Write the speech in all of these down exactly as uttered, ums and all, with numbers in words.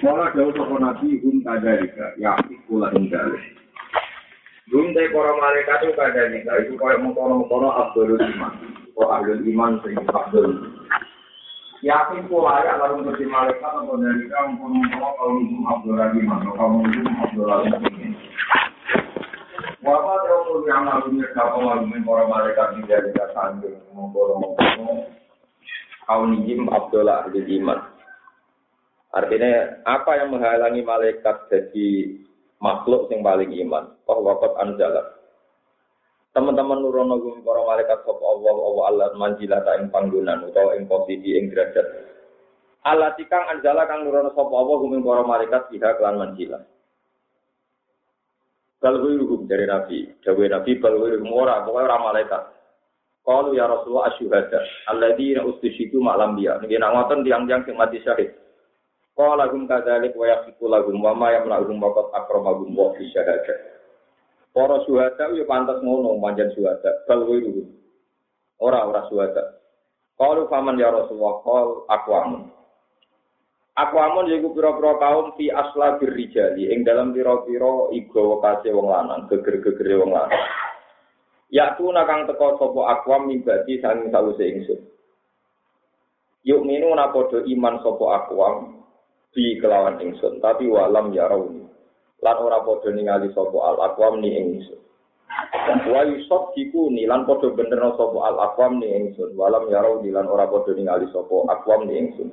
Kala dawuh sapa nabi hum kadalika ya kula ingkang. Hum te para malaikat itu kadalika itu kaya mengkono-mengkono Abdul Iman. Kok Abdul Iman sing Abdul. Ya kula ya lalu mesti malaikat apa dalika mengkono-mengkono kalau Abdul Iman kalau Abdul Iman. Wapa teori yang lalu mereka mengalami para malaikat di dalam sandung mengkono-mengkono kaum Jim Abdullah Abdul Iman. Artinya apa yang menghalangi malaikat jadi makhluk yang paling iman? Oh waqat anzalat. Teman-teman nurono gum para malaikat sapa Allah Allah Allah manjilata ing panggonan utawa ing posisi ing derajat. Allah tikang anzala kang nurono sapa Allah gum para malaikat biha kelan manjilah. Balwiruhum dari Nabi, dawuh Nabi balwiruhum ora pokoke ora malaikat. Qalu ya Rasulullah asyhada alladzina ustishidu ma'lam biya. Nggih nak ngoten tiyang-tiyang sing mati syahid. Qala hum kadzalik wa yaqiqu lahum wa ma yamna'uhum waqad akramahum wa fi syahadah. Para syuhada yo pantes ngono manjen syuhada. Balwiruhum. Ora ora syuhada. Qalu faman ya Rasulullah qal aqwamun. Aqwamun yaiku pira-pira kaum fi aslabir rijali ing dalam pira-pira iga wekase wong lanang, geger-gegere wong lanang. Ya tu nakang teka sapa aqwam mibati sang sawise ingsun. Yuk minu na padha iman sapa aqwam bi kelawan ingsun, tapi walam ya rauni. Lan ora padha ningali sapa al aqwam ni ingsun. Wa yusab diku ni lan padha bener sapa al aqwam ni ingsun, walam ya rauni lan ora padha ningali sapa aqwam ni ingsun.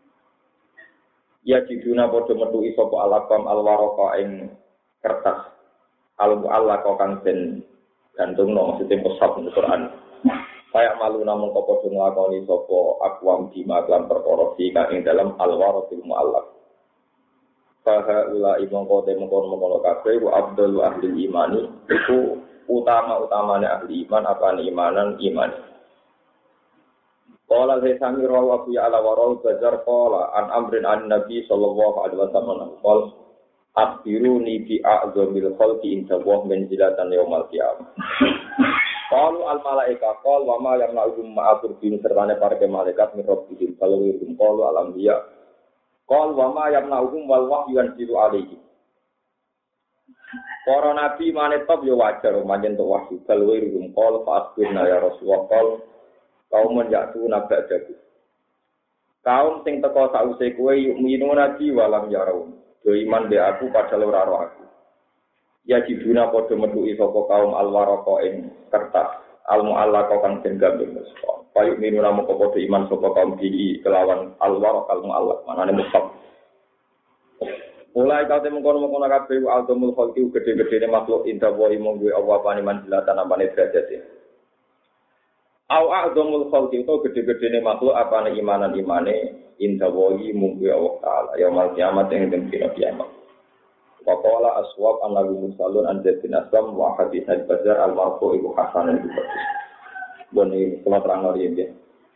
Ya jiduna padha metuki sapa al aqwam al warqa ing kertas. Al mu'allaq kang den gantungno maksudnya musab di Quran. Kayak malu namung kok padha nglakoni sapa aqwam di maklan perkara fi kang ing dalam al-warathil mu'allaq. Fa haula imangko te mengkon-mengkon kabeh wa abdul ahli imani iku utama-utamane ahli iman apane imanan iman. Qala sami rawa fi ala warau bajar qala an amrin an nabi sallallahu alaihi wasallam qol akhbiruni bi a'zamil khalqi inda wa manzilatan yaumal qiyamah. Qalu al malaika qal wa ma yamna'uhum ma'atur bin sertane para malaikat mirrobbihim kalau wirum qalu al anbiya qal wa ma yamna'uhum wal wahyu yanzilu alaihi. Para nabi manetop yo wajar manjen to wahyu kalau wirum qal fa asbirna ya rasulullah qal kaum menjatu nabadaku. Kaum sing teka sause kowe yuk minu nabi walam yarau. Do iman be aku padahal ora roh aku. Ya jiduna padha metuki sapa kaum alwarqa ing kertas almu'allaq kang den gambir mesra. Payu minu namung padha iman sapa kaum iki kelawan alwarqa almu'allaq manane mushaf. Mulai kate mengkono-mengkono kabeh altumul khalqi gede-gedene makhluk inda wa imong duwe apa apane manjilatan apane derajate. Au a'dhamul khalqi to gede-gedene makhluk apane imanan-imane inda wa imong duwe Allah taala yaumul kiamat ing dina kiamat. Waqala aswab an-nabi musallun an bin aslam wa hadits al-bazar al-marfu ibu hasan al bukhari. Bone kula terang ori nggih.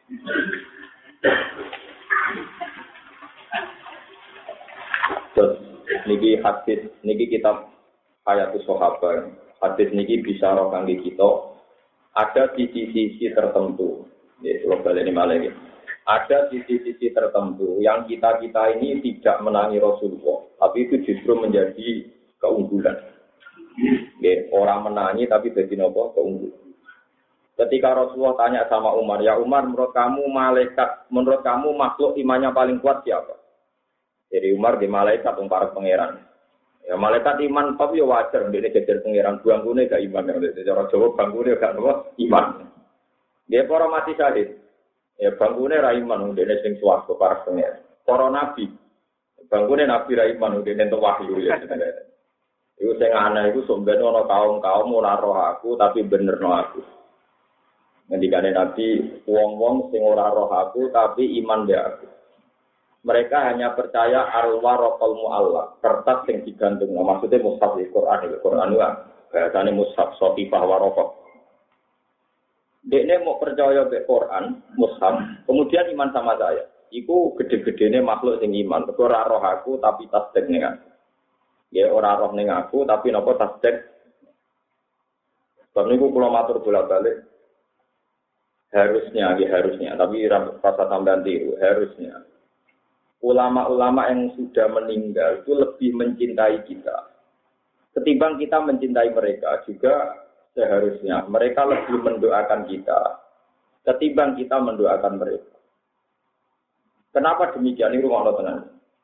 Terus niki hadis niki kitab Hayatus Sahabat. Hadis niki bisa ro kangge kita ada sisi-sisi tertentu. Ya, kula baleni malih. Ada sisi-sisi tertentu yang kita-kita ini tidak menangi Rasulullah, tapi itu justru menjadi keunggulan. Ya, orang menangi tapi jadi nopo keunggulan. Ketika Rasulullah tanya sama Umar, ya Umar, menurut kamu malaikat, menurut kamu makhluk imannya paling kuat siapa? Jadi Umar di malaikat para pangeran. Ya malaikat iman tapi ya wajar, dia jajar pangeran bangkune gak iman. Cara Jawa bangkune gak nopo iman. Dia para mati syahid. Ya bangkune ra iman dene sing swarga para pengen. Para nabi. Bangkune nabi ra iman dene entuk wahyu ya. Iku sing aneh iku sombene ana kaum-kaum ora roh aku tapi benerno aku. Ngendikane nabi wong-wong sing ora roh aku tapi iman be aku. Mereka hanya percaya al-waraqal mu'allaq, kertas sing digantung. Maksudnya mushaf Al-Qur'an, Al-Qur'an wae. Bahasane mushaf sofifah waraqah. Dekne mau percaya be Quran, mushaf, kemudian iman sama saya. Iku gede-gedene makhluk sing iman. Ora roh aku tapi tasdek ning aku. Ya ora roh ning aku tapi napa tasdek. Sebab niku kula matur bolak-balik. Harusnya, ya harusnya, tapi rasa tambahan tiru, harusnya. ulama-ulama yang sudah meninggal itu lebih mencintai kita. Ketimbang kita mencintai mereka juga seharusnya mereka lebih mendoakan kita. Ketimbang kita mendoakan mereka. Kenapa demikian? Ini rumah Allah tenang.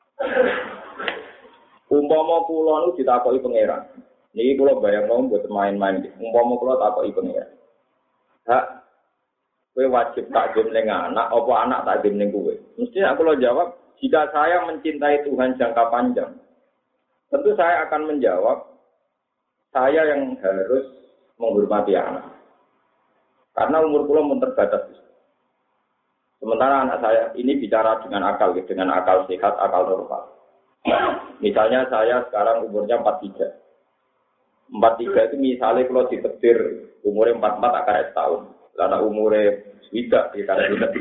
Umpama kula nu ditakoki pangeran. Niki kula bayangno buat main-main. Umpama kula takoki pangeran. Hak kowe wajib takdim ning anak apa anak takdim ning kowe? Mesti aku lo jawab, jika saya mencintai Tuhan jangka panjang, tentu saya akan menjawab saya yang harus menghormati anak. Karena umur kula mun terbatas. Sementara anak saya ini bicara dengan akal, dengan akal sehat, akal normal. Misalnya saya sekarang umurnya empat puluh tiga. empat puluh tiga itu misalnya kalau ditekdir umurnya empat puluh empat akan setahun. Karena umurnya tidak, karena tidak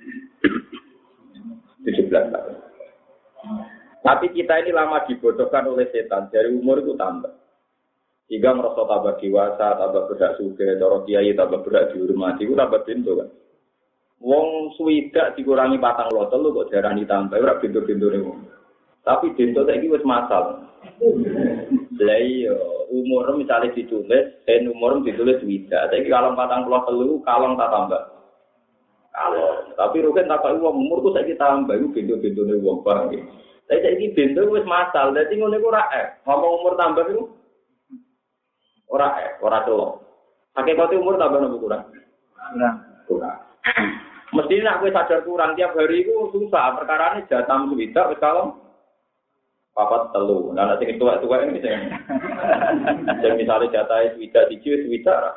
tujuh belas tahun. Tapi kita ini lama dibodohkan oleh setan. Dari umur itu tambah. Jika merasa tambah dewasa, tambah berhak suge, cara kiai tambah berhak dihormati, itu tambah pintu kan. Wong swidak dikurangi patang lotol lu kok darani tambah ora pintu-pintune wong. Tapi pintu saiki wis masal. Lah iya, umur misalnya ditulis, sen umur ditulis swidak. Saiki kalong patang puluh telu, kalong tak tambah. Kalong. Tapi rugen tak kok wong umurku saiki tambah iku pintu-pintune wong barang iki. Tapi saiki pintu wis masal, dadi ngene iku ora eh. Ngomong umur tambah iku ora eh, ora telok. Hakikate umur tambah nopo kurang? Kurang. Kurang. Mestinya aku sadar kurang tiap hari itu susah. Perkara ini jatam swidak, kalau papat telu. Nah, nanti tua-tua ini bisa. Dan misalnya jatah swidak, tiga swidak.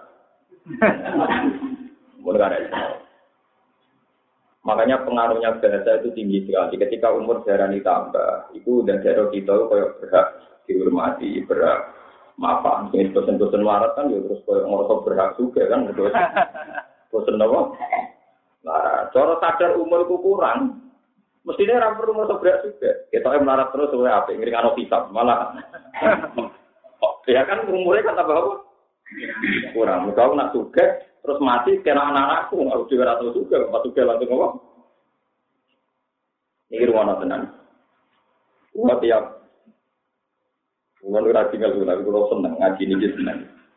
Mungkin ada. Makanya pengaruhnya bahasa itu tinggi sekali. Ketika umur darah ditambah, itu dan darah kita itu kayak berhak dihormati, berhak maaf. Ini bosan-bosan warat kan, ya terus kayak ngorok berhak juga kan. Bosan apa? Nah, cara sadar umur itu kurang, mestinya orang perlu merasa berat juga. Kita yang melarat terus, oleh apa? Ngiringan hisab malah. Oh, ya kan umurnya kan tambah apa? Kurang. Kalau nak juga, terus mati kena anak-anakku, harus juga rata juga, pas juga langsung apa? Ini rumah tenang. Wah tiap, umur udah tinggal dulu, tapi kalau senang ngaji ini senang.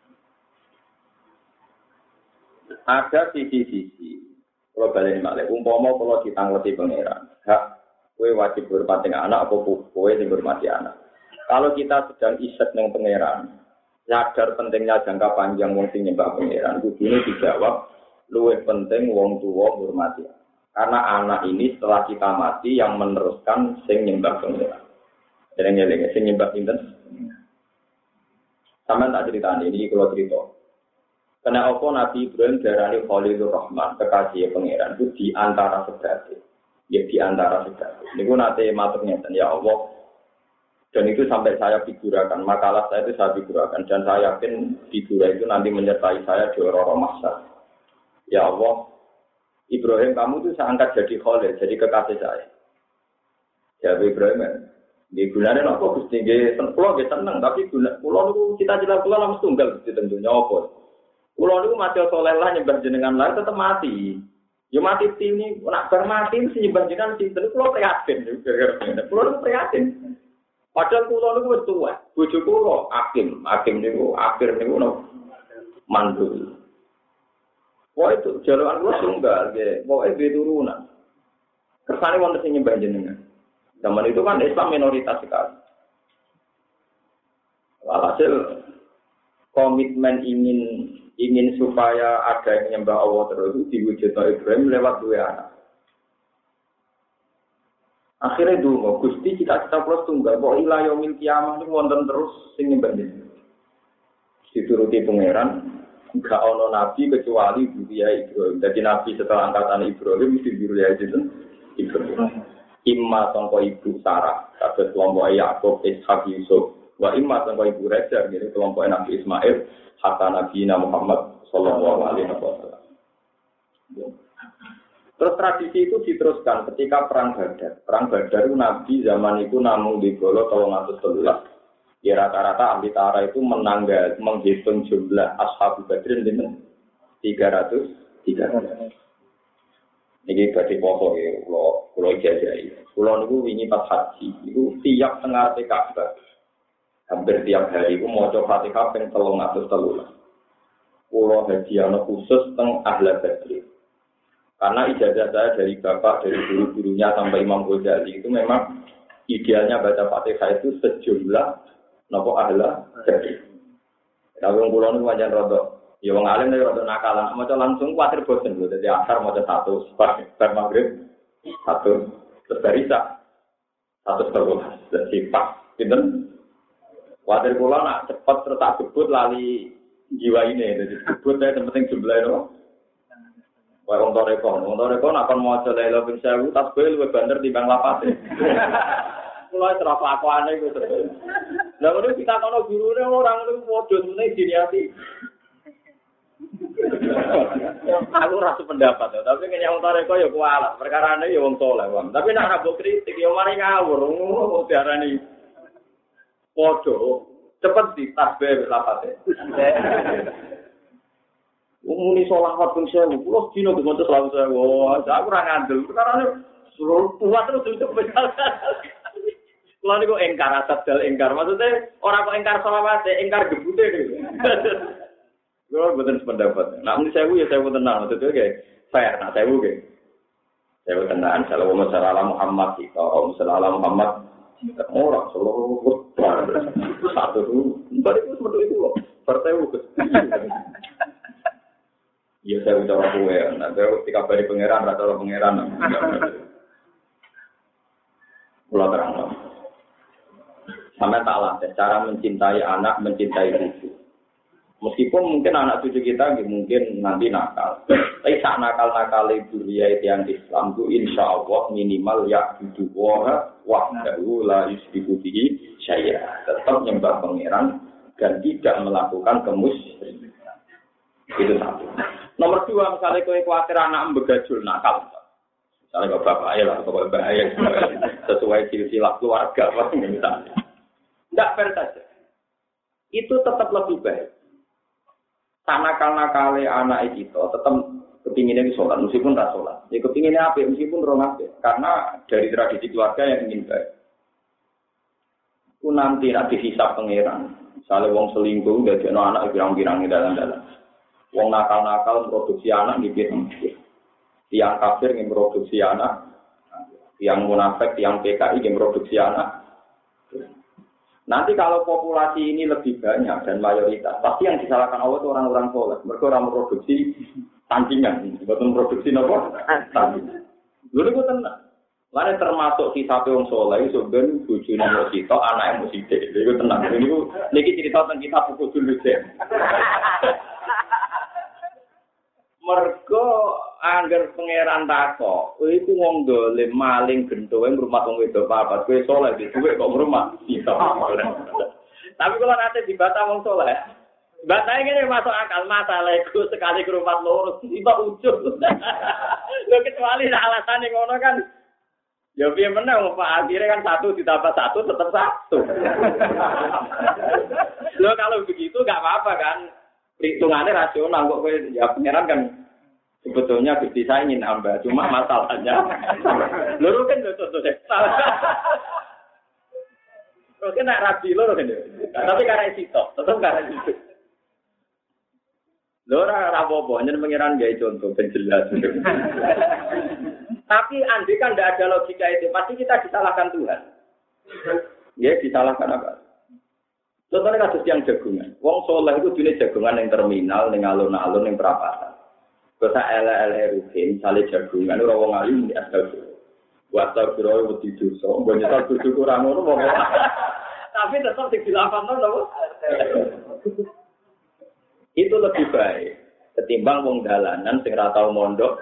Ada sisi-sisi. Kalau balik malih, umpama kalau ditangleti pangeran, hak kowe wajib hormati anak apa kowe sing hormati anak. Kalau kita sedang isek ning pangeran, sadar pentingnya jangka panjang wong sing nyembah pangeran, kudune dijawab luwih penting wong tuwa hormati. Karena anak ini setelah kita mati yang meneruskan sing nyembah pangeran. Eling-eling sing nyembah sinten? Sampeyan tak critani iki kula crito. Karena apa Nabi Ibrahim darani Khalilur Rahman, kekasih pangeran itu di antara sebagai, ya di antara sebagai. Ini pun nanti maturnya ya Allah. Dan itu sampai saya figurakan, makalah saya itu saya figurakan dan saya yakin figura itu nanti menyertai saya di orang-orang masa. Ya Allah, Ibrahim kamu itu saya angkat jadi Khalil, jadi kekasih saya. Ya Ibrahim, di gunanya apa Gusti nggih pulau nggih seneng, tapi guna pulau itu cita-cita pulau langsung tunggal Gusti tentunya apa. Pulau itu mati soleh lah nyembah jenengan lain tetap mati. Ya mati ini nak bermati si nyembah jenengan sih terus pulau prihatin. Pulau itu prihatin. Padahal pulau itu tua. Bujuk pulau hakim, hakim itu akhir itu no mandul. Wah itu jalan pulau tunggal, ge. Wah itu turunan. Kersane wonten sing nyembah jenengan. Zaman itu kan Islam minoritas sekali. Walhasil komitmen ingin ingin supaya ada yang menyembah Allah terus diwujudkan Ibrahim lewat dua anak. Akhirnya dulu, Gusti cita-cita plus tunggal, bahwa ilah yaumil kiamah itu wonten terus sing nyembah jenengan. Dituruti pangeran, enggak ono nabi kecuali Buria Ibrahim. Jadi nabi setelah angkatan Ibrahim mesti Buria Ibrahim. Imma sangka ibu Sarah, kados kelompok Yakub, Ishak, Yusuf. Wa imma sangka ibu Hajar, jadi kelompok Nabi Ismail. Hatta Nabi Muhammad Sallallahu Alaihi Wasallam. Terus tradisi itu diteruskan ketika perang Badar. Perang Badar itu Nabi zaman itu namun di Golo tolong atus telulas. Ya rata-rata ahli tara itu menanggal menghitung jumlah ashab Badrin dengan tiga ratus tiga ratus. Niki badhe poso ya, kula kula ijazahi. Kula niku wingi pas haji, niku tiap tengah Ka'bah. Hampir tiap hari iku maca Fatihah ping telung atus telulas. Kula hadiah khusus teng Ahla Badri. Karena ijazah saya dari bapak, dari guru-gurunya sampai Imam Ghazali itu memang idealnya baca Fatihah itu sejumlah napa Ahla Badri. Kalau wong kula niku pancen rada ya wong alim nek rada nakalan, maca langsung kuwatir bosen lho. Dadi asar maca satu, bar maghrib satu, terus barisa satu terulas. Dadi pas pinten? Kuwatir kula nak cepet terus tak gebut lali jiwa ini. Dadi gebut saya penting jumlah itu. Wae wong toreko, wong toreko nak kon maca la ilaha illallah sewu tasbih luwih banter timbang lapate. Kula terus lakuane iku terus. Lah ngono kita kono gurune orang niku padha meneh diniati. Aku rasa pendapat ya, tapi kenyang toreko ya kualat. Perkarane ya wong saleh, Bang. Tapi nek rabuk kritik ya mari ngawur, ngono diarani padha cepet di tasbih lapate. Umune selawat ping sewu, kula dina maca selawat sewu. Aku ora ngandel, perkarane suruh kuat terus itu bedal. Kula niku engkar asal engkar. Maksudnya ora kok engkar selawat, engkar gebute niku. Gue betul sependapat. Nah, ini saya ya saya tenang. Maksudnya kayak fair. Nah, saya kayak saya tenang. Kalau masalah Muhammad sih, kalau masalah Muhammad orang seluruh satu itu, balik itu seperti itu loh. Partai itu. Iya saya udah aku ya. Nanti ketika balik pangeran, rata pangeran. Pulau terang. Sampai tak lah. Cara mencintai anak, mencintai cucu. Meskipun mungkin anak cucu kita mungkin nanti nakal, tapi saat nakal-nakal duriya yang Islam itu insya Allah minimal ya duduwa wahdahu la yusyriku bihi syai'a, tetap nyembah pangeran dan tidak melakukan kemusyrikan. Itu satu. Nomor dua, misalnya kowe khawatir anak begajul nakal, misalnya kau bapak ayah atau bapak ayah sesuai silsilah keluarga, misalnya, tidak fair saja. Itu tetap lebih baik. Nakal-nakale anak itu tetap kepinginnya di sholat, meskipun tak sholat. Ya kepinginnya apa? Meskipun orang apa? Karena dari tradisi keluarga yang ingin baik. Ku nanti nak dihisap pangeran. Misalnya wong selingkuh, gak ada anak pirang-pirang di dalam-dalam. Wong nakal-nakal produksi anak di pirang-pirang. Tiang kafir yang produksi anak, tiang munafik, tiang P K I yang produksi anak. Nanti kalau populasi ini lebih banyak dan mayoritas, pasti yang disalahkan Allah itu orang-orang soleh. Mereka orang produksi tandingan, bukan produksi apa? Tandingan. Dulu itu tenang. Lalu termasuk kisah orang soleh, sebenarnya bujuni musik, anak yang musik. Itu tenang. Ini ini cerita tentang kita pukul dulu deh. Mergo angger pangeran tako, iku wong dolim maling gentowe rumah wong wedok papat, kowe saleh di dhuwit kok rumah bisa. Tapi kalau nanti dibata wong saleh, batane ngene masuk akal masalahku sekali ke rumah loro tiba ujug. Lho kecuali alasane ngono kan. Ya piye menang Pak, akhirnya kan satu ditambah satu tetap satu. Lho kalau begitu enggak apa-apa kan. Hitungannya rasional kok ya pangeran kan sebetulnya Gusti saya ingin hamba, cuma masalahnya loro kan lho contohnya. Terus nak rabi loro kan. Tapi karena itu tetap karena itu. Loro ora apa-apa, nyen pangeran gawe contoh ben jelas. Tapi andai kan tidak ada logika itu, pasti kita disalahkan Tuhan. Ya disalahkan apa? Contohnya kasus yang jagungan. Wong soleh itu jenis jagungan yang terminal, yang alun-alun, yang perapatan. Bisa ele-ele rutin, saling jagungan, orang wong alim di asal itu. Buat tahu kira wedi dosa, banyak tahu bersyukur orang orang wong. Tapi tetap dilakukan loh. Itu lebih baik ketimbang wong dalanan sing ora tau mondok.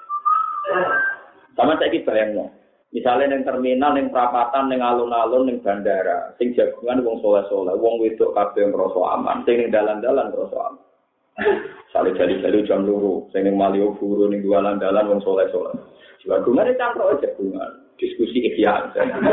Sama saiki bayangno. Misalnya yang terminal, yang perapatan, yang alun-alun, yang bandara, sing jagungan wong soleh-soleh, wong wedok kabeh ngrasa aman, sing ning dalan-dalan ngrasa aman. Sale jali-jali jam loro, sing ning Malioboro ning dalan-dalan wong soleh-soleh. Jagungan itu cangkruk jagungan, diskusi ikhya.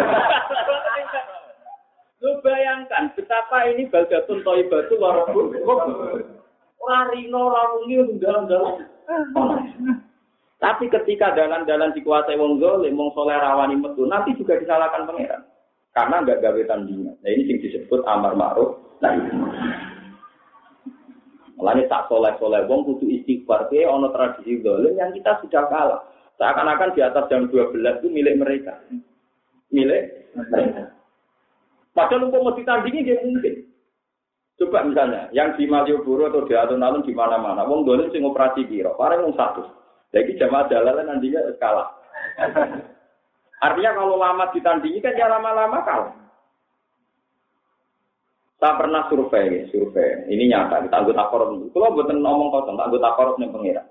Lu bayangkan betapa ini baldatun thayyibatun wa rabbul ora rino ora wengi ning dalan-dalan. Tapi ketika dalan-dalan dikuasai wong zalim, wong saleh rawani metu, nanti juga disalahkan pangeran. Karena enggak gawe tandingan. Nah ini yang disebut amar ma'ruf nahi munkar. Mulane tak saleh-saleh wong kudu istighfar. Ki ana tradisi zalim yang kita sudah kalah. Seakan-akan di atas jam dua belas itu milik mereka. Milik mereka. Padahal umpama ditandingi dia mungkin. Coba misalnya, yang di Malioboro atau di alun-alun di mana-mana, wong zalim sing operasi kira, paling wong satu. Jadi jamaah jalalan nantinya kalah. Artinya kalau lama ditandingi kan ya lama-lama kalah. Saya pernah survei, survei. Ini nyata, kita anggota korup. Kalau buatan ngomong kosong, anggota korup yang pengira.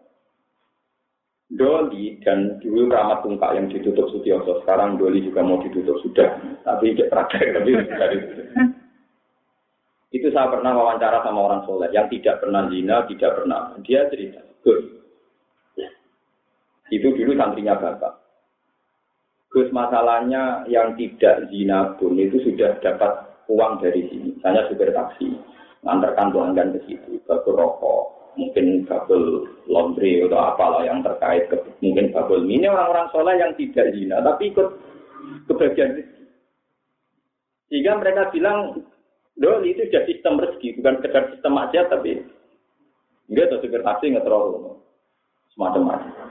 Doli dan dulu Rahmat Tungkak yang ditutup Sutioso, sekarang Doli juga mau ditutup sudah. Tapi tidak terakhir, tapi sudah ditutup. Itu saya pernah wawancara sama orang soleh yang tidak pernah zina, tidak pernah. Dia cerita, Gus. Itu dulu santrinya bapak. Gus, masalahnya yang tidak zina pun itu sudah dapat uang dari sini. Misalnya supir taksi, ngantarkan pelanggan ke situ, babel rokok, mungkin babel laundry atau apalah yang terkait, ke, mungkin babel ini orang-orang soleh yang tidak zina, tapi ikut kebagian rezeki. Sehingga mereka bilang, Dol itu sudah sistem rezeki, bukan sekedar sistem aja, tapi enggak tuh supir taksi nggak terlalu semacam-macam.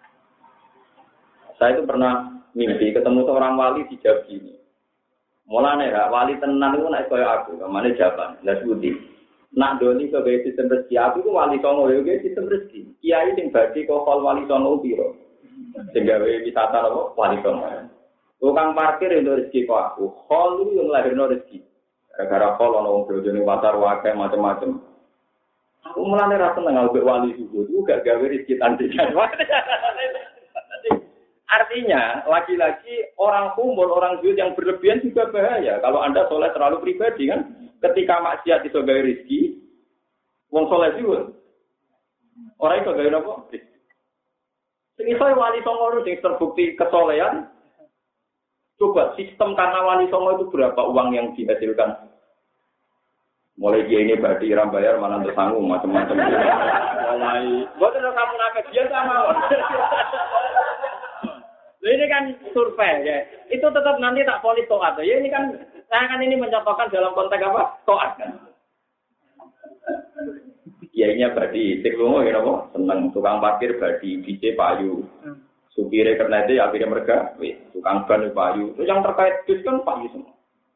Saya itu pernah mimpi ketemu seorang wali di Jawa ini. Mulane ra wali tenan iku nek kaya aku, kamane jaban, lha sebuti. Nak doni sebagai sistem rezeki, aku itu wali songo ya sistem rezeki. Kiai sing badhe kok wali songo piro. Sing gawe wisata apa wali songo. Tukang parkir itu rezeki kok aku. Hol itu yang lahirno rezeki. Gara-gara hol ana wong bojone pasar wae macam-macam. Aku mulane ra seneng ambek wali subuh, itu gak gawe rezeki tandingan. Artinya, lagi-lagi orang kumpul, orang zuhud yang berlebihan juga bahaya. Kalau Anda soleh terlalu pribadi kan, ketika maksiat itu gawe rezeki, wong soleh zuhud. Orang itu gawe apa? Sing iso wali songo sing terbukti kesolehan. Coba sistem karena wali songo itu berapa uang yang dihasilkan? Mulai dia ini berarti iram bayar mana tersanggung macam-macam. Mulai, buat kamu nakal dia sama. Ini kan survei ya. Itu tetap nanti tak polis toat ya. Ini kan saya kan ini mencontohkan dalam konteks apa? Toat kan. Kiainya badi, teknologi ya apa? Seneng tukang parkir badi, D J payu. Supire karena itu akhirnya mereka, wih, tukang ban payu. Itu yang terkait bis kan payu semua.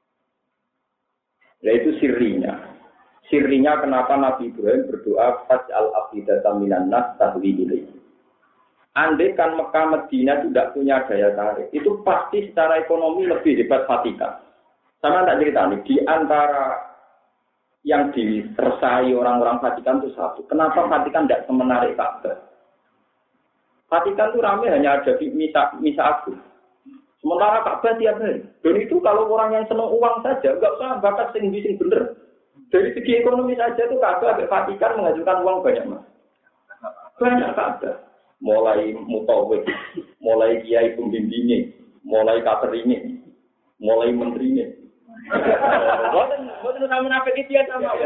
Nah itu sirinya. Sirinya kenapa Nabi Ibrahim berdoa faj'al afidatan minan nas tahwi ilaihi. Andai kan Mekah Medina tidak punya daya tarik, itu pasti secara ekonomi lebih hebat Vatikan. Sama tak cerita nih, di antara yang disersai orang-orang Vatikan itu satu. Kenapa Vatikan tidak semenarik Ka'bah? Vatikan itu ramai hanya ada di misa, misa agung. Sementara Ka'bah tiap hari. Dan itu kalau orang yang senang uang saja, nggak usah bakat sing-sing bener. Dari segi ekonomi saja itu Ka'bah Vatikan menghasilkan uang banyak mas. Banyak Ka'bah. Mulai mutawif, mulai kiai pembimbingnya, mulai kateringnya, mulai menterinya. Boten, boten sama nafik itu ya sama.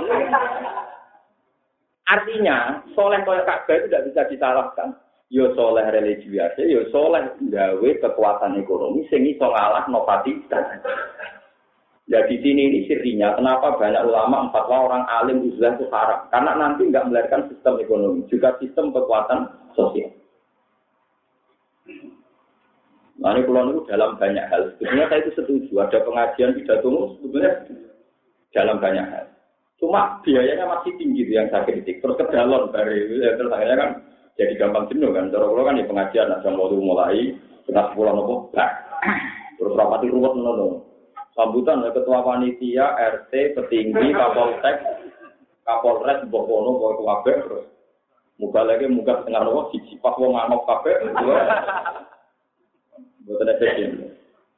Artinya, soleh koyak Ka'bah itu tidak bisa disalahkan. Yo soleh religi biasa, yo soleh gawe kekuatan ekonomi sing iso ngalahno Vatikan. Jadi sini ini sirinya, kenapa banyak ulama empat orang alim uzlah itu haram? Karena nanti nggak melahirkan sistem ekonomi, juga sistem kekuatan sosial. Nah ini pulau itu dalam banyak hal. Sebetulnya saya itu setuju. Ada pengajian pidato sebetulnya dalam banyak hal. Cuma biayanya masih tinggi itu yang saya kritik. Terus ke dalam dari ya, terus akhirnya kan jadi gampang jenuh kan. Terus kalau kan di pengajian ada mau mulai setengah sepuluh nopo bak. Terus rapati ruwet nopo. Sambutan oleh ketua panitia, R T, petinggi, Kapolsek, Kapolres, Bokono, Bokono kabeh terus. Muga lagi muga setengah nopo siji pas wong nganok kabeh. Bukan efisien.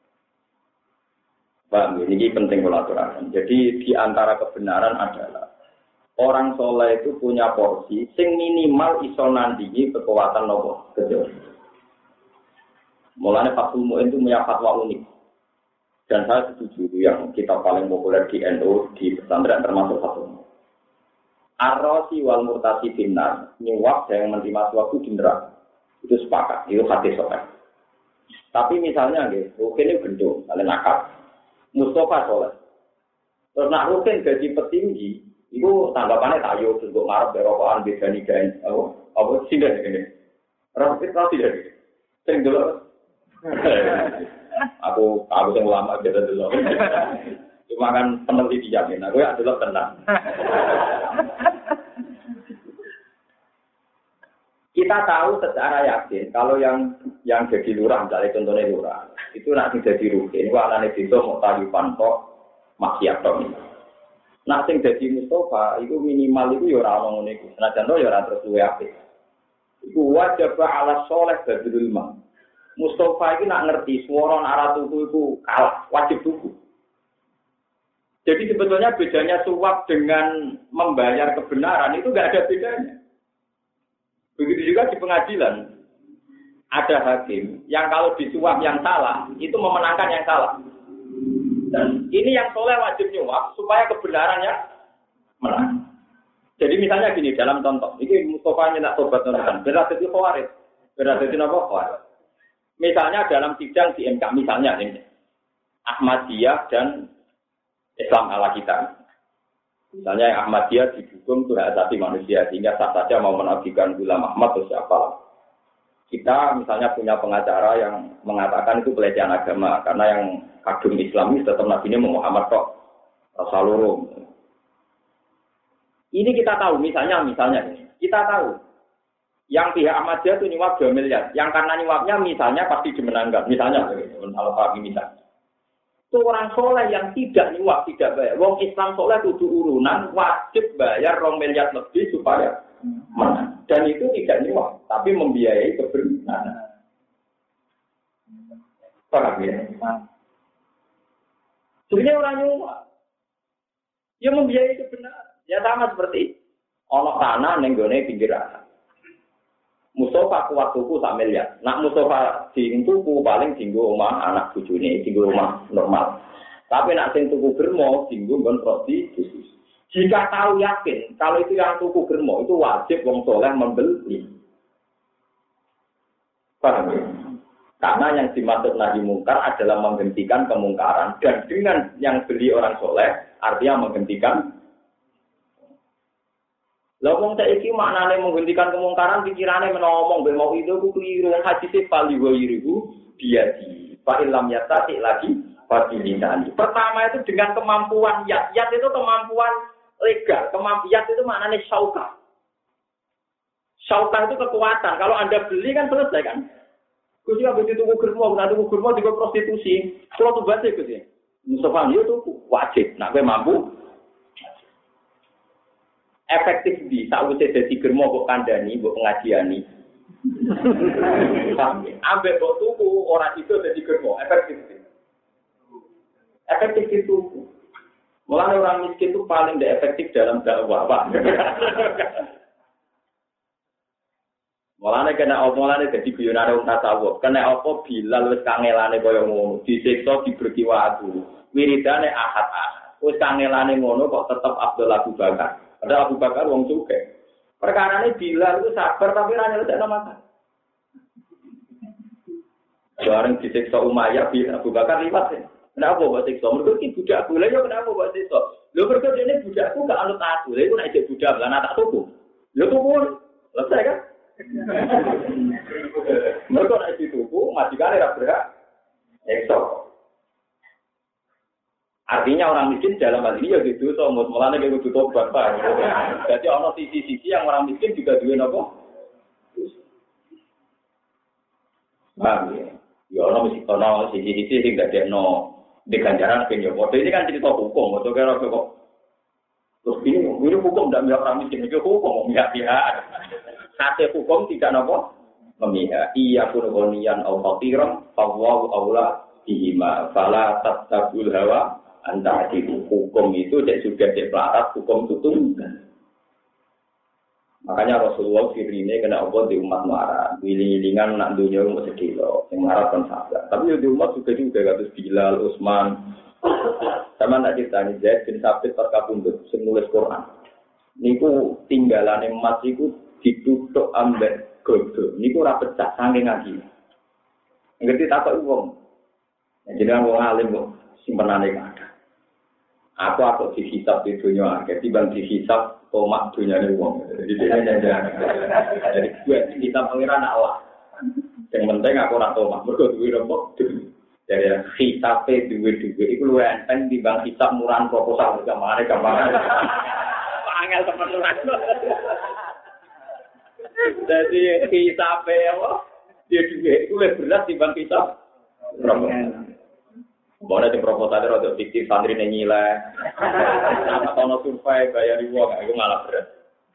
Pak, ini penting kolaborasi. Jadi di antara kebenaran adalah orang soleh itu punya porsi sing minimal iso nandingi kekuatan nopo kecil. Mulanya Fathul Mu'in itu punya fatwa unik. Dan saya setuju yang kita paling populer di N U di pesantren termasuk Fathul Mu'in. Ar-Rasi wal Murtasi binar, nyuap yang menerima suatu di neraka. Itu sepakat, itu hati soleh. Tapi misalnya, Rukin ini gendong, kalian nakal. Mustafa soleh. Terus nak Rukin gaji petinggi, itu tanggapannya tayo, terus gue marah berokokan, beda nigain. Apa? Apa? Sindah ini. Rukin tau tidak? Sering dulu. Aku, aku yang lama beda dulu. Cuma kan peneliti dijamin, aku ya dulu tenang. Kita tahu secara yakin kalau yang yang jadi lurah, misalnya contohnya lurah, itu nanti jadi rutin. Wah, nanti itu mau tahu pantok maksiat dong. Nah, sing jadi Mustafa itu minimal itu ya orang ngomong itu. Senajan to ya orang terus luwe apik. Iku wajib ala soleh badrul ma. Mustafa itu nak ngerti suara arah tuku itu kalah, wajib tuku. Jadi sebetulnya bedanya suap dengan membayar kebenaran itu enggak ada bedanya. Begitu juga di pengadilan. Ada hakim yang kalau disuap yang salah, itu memenangkan yang salah. Dan ini yang soleh wajib nyuap supaya kebenarannya menang. Jadi misalnya gini, dalam contoh, ini Mustafa nyenak tobat nonton, berarti itu khawarid. Berarti itu apa? Khawarid. Misalnya dalam sidang di M K, misalnya ini, Ahmadiyah dan Islam ala kita. Misalnya Ahmadiyah didukung itu hak asasi manusia sehingga sah saja mau menabdikan Ghulam Ahmad atau siapa. Kita misalnya punya pengacara yang mengatakan itu pelecehan agama karena yang kagum Islamis tetap Nabi ini Muhammad kok Rasulullah. Ini kita tahu misalnya misalnya kita tahu yang pihak Ahmadiyah itu nyuap dua miliar, yang karena nyuapnya misalnya pasti dimenangkan. Misalnya kalau kami misalnya. Itu orang soleh yang tidak nyuap, tidak bayar. Wong Islam soleh kudu urunan, wajib bayar rong miliar lebih supaya menang. Dan itu tidak nyuap, tapi membiayai kebenaran. Paham ya? Sebenarnya orang nyuap, dia membiayai kebenaran. Ya sama seperti ono tanah nenggone pinggiran. Mustafa kuat tuku sak miliar. Nak Mustafa sing tuku paling dinggo omah anak bojone, dinggo omah normal. Tapi nak sing tuku germo dinggo nggon prostitusi. Jika tahu yakin kalau itu yang tuku germo itu wajib wong soleh membeli. Paham ya? Karena yang dimaksud nahi mungkar adalah menghentikan kemungkaran dan dengan yang beli orang soleh artinya menghentikan. Lah wong saiki maknane menghentikan kemungkaran pikirane menawa mbek mau itu ku keliru hadis pali wa yiriku dia di fa illam yatati lagi fatilinani. Pertama itu dengan kemampuan yat. Yat itu kemampuan legal, kemampuan itu maknane syauka. Syauka itu kekuatan. Kalau Anda beli kan selesai kan? Kuwi apa itu tuku germo, nek tuku germo juga prostitusi. Kalau tuh baca Gus ya. Mustafa itu wajib, nek kowe mampu efektif di sakwise dadi germo kok kandhani, mbok pengajiani. Ambek kok tuku ora itu dadi germo, efektif. Efektif itu. Mulane orang miskin itu paling tidak efektif dalam dakwah, Pak. Mulane kena apa mulane dadi guyonane wong tasawuf. Kena apa Bilal wis kangelane kaya ngono, disiksa diberi waktu. Wiridane ahad-ahad. Wis kangelane ngono kok tetep Abdul Abu Bakar. Ada Abu Bakar wong suke. Perkarane Bilal itu sabar tapi ra nyelesaikan masalah. Bareng disiksa Umayyah bin Abu Bakar liwat. Kenapa buat siksa? Mergo iki budak boleh yo kenapa buat siksa? Lho mergo dene budakku gak anut aku. Lha iku nek jek budak lan tak tuku. Lho tuku. Selesai kan? Mergo nek dituku majikane ra berhak siksa. Artinya orang miskin dalam hal ini ya gitu, so mulanya kayak gitu tobat pak. Jadi ono sisi-sisi yang orang miskin juga duwe apa? Paham ya? Ya ono mesti ono sisi-sisi sing gak deno diganjaran penyo. Foto ini kan cerita hukum, atau kira kok. Terus ini, ini hukum tidak memihak orang miskin, itu hukum memihak-pihak. Hasil hukum tidak apa? Memihak. Iya pun gonian atau tiram, fawahu aula dihima, fala tatabul hawa. Antara itu hukum itu cek juga cek pelarat hukum tutung. Makanya Rasulullah firine kena apa di umat marah, wiling-wilingan nak dunia umat sedih loh, yang marah kan sabar. Tapi di umat juga juga kados Bilal, Utsman. Sama nak ditanya Zaid bin Sabit terkabundut, nulis Quran. Niku tinggalan emas iku ditutuk ambek godho niku ora pecah saking ngaji. Ngerti tak kok wong. Jenengan wong alim kok simpenane kathah. Aku aku dihisab di dunia akhir, timbang dihisab tomak dunia ini wong. Jadi dia jangan. Jadi gue kita pengiran Allah. Yang penting aku nak tomak, berikut duit rempok. Jadi hisabnya duit-duit itu lu enteng timbang hisab murahan proposal kemana kemana. Angel teman-teman. Jadi hisabnya apa? Dia duit itu lebih berat timbang hisab proposal. Boleh di proposal itu untuk fiktif santri nilai, nama tono survei bayar uang, itu malah berat.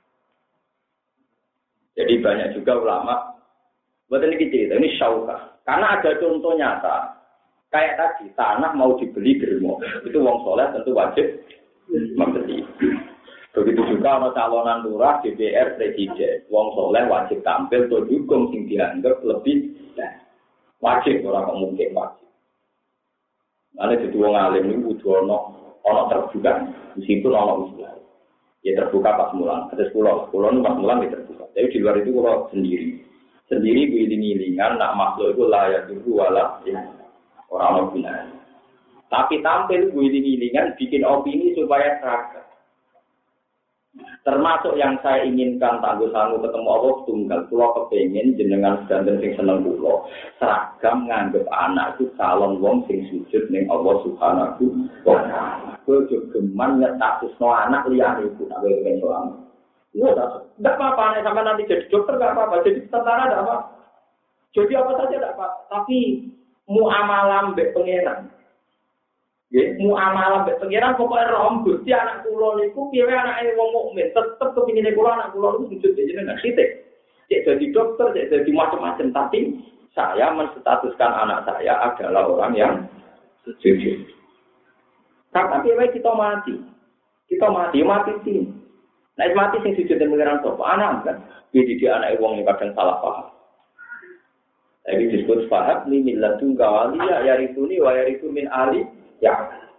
Jadi banyak juga ulama, buat ini cerita ini syauka, karena ada contoh nyata, kayak tadi tanah mau dibeli germo, itu wong soleh tentu wajib membeli. Begitu juga ono calonan lurah, D P R, presiden, wong soleh wajib tampil untuk dukung sing dianggap lebih wajib orang mungkin wajib. Ada jadi wong alim ini kudu ono ono terbuka, meskipun ono usul. Ya terbuka pas mulang, ada sepuluh, sepuluh pas mulang ya terbuka. Tapi di luar itu kalau sendiri, sendiri giling-gilingan, nak makhluk itu layak dulu wala, ya orang orang Tapi tampil giling-gilingan, bikin opini supaya seragam. Termasuk yang saya inginkan tangguh-tangguh ketemu Allah tunggal. Pulau kepengen jenengan sedanten sing seneng pulau. Seragam nganggep anak itu calon wong sing sujud ning Allah Subhanahu wa taala. Kowe geman nyetakno anak liyane iku nek kowe pengen soal. Iya, enggak apa-apa nek sampean nanti jadi dokter enggak apa-apa, jadi tentara enggak apa. Jadi apa saja enggak apa. Tapi muamalah mbek pangeran. Nggih, muamalah mbek pangeran pokoke rom Gusti anak kula niku piye anake wong mukmin, tetep kepingine kula anak kula niku sujud jenengan sithik. Cek jadi dokter, cek jadi macam-macam, tapi saya menstatuskan anak saya adalah orang yang sujud. Tapi wae kita mati. Kita mati, mati sih. Nek mati sing sujud den pangeran sapa? Anak kan. Jadi dia anak wong yang kadang salah paham. Jadi disebut fahab ni millatun gawaliya yarithuni wa yarithu min ali ya.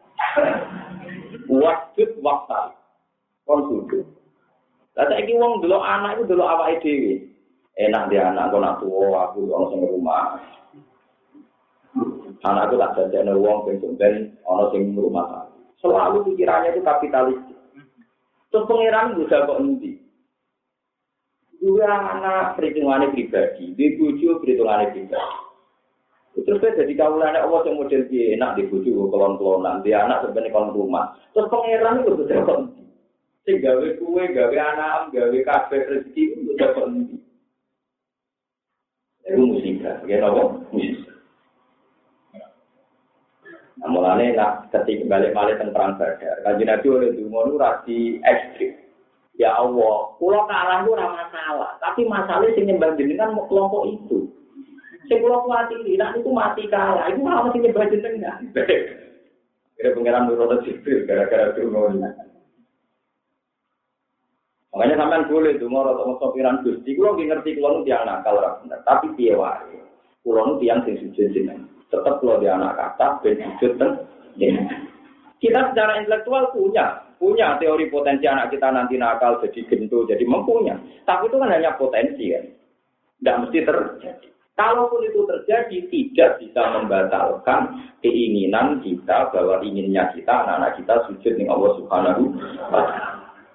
Wajud waktu. Kon sujud. Lah saiki wong delok anak iku delok awake dhewe. Enak dia anak kok nak tuwa aku ono sing rumah. Anakku tak jajane wong sing ben ono sing rumah. Selalu pikirannya itu kapitalis. Terus pengiran bisa kok endi? Dua anak perhitungannya pribadi, di bojo perhitungannya pribadi. Terus saya jadi kawulane Allah yang model dia enak di bojo kelon-kelonan, dia anak sebenarnya kon rumah. Terus pengiran itu bisa kok endi? Sing gawe kuwe, gawe anak, gawe kabeh rezeki itu bisa kok endi? Itu musibah, ya apa? Musibah. Nah, mulane nak ketika balik-balik tentang perang Badar, Kanjeng Nabi oleh dungo nu rasi ekstrim. Ya Allah, kula kalah ku ora masalah, tapi masalahnya sing nyembah jenengan mau kelompok itu. Sing kula kuwatiri nek niku mati kalah, iku ora mesti nyembah jenengan. Kira pengiran nurut sipil gara-gara dungo. Makanya sampean boleh dungo rada sopiran Gusti, kula ngerti kula nu tiyang nakal ora bener, tapi piye wae. Kula nu tiyang sing sujud jenengan. Tetap kalau dia anak kata, ben sujud dan kita secara intelektual punya, punya teori potensi anak kita nanti nakal, jadi gendut, jadi mempunyai. Tapi itu kan hanya potensi kan, tidak mesti terjadi. Kalaupun itu terjadi, tidak bisa membatalkan keinginan kita bahwa inginnya kita anak-anak kita sujud dengan Allah Subhanahu wa taala.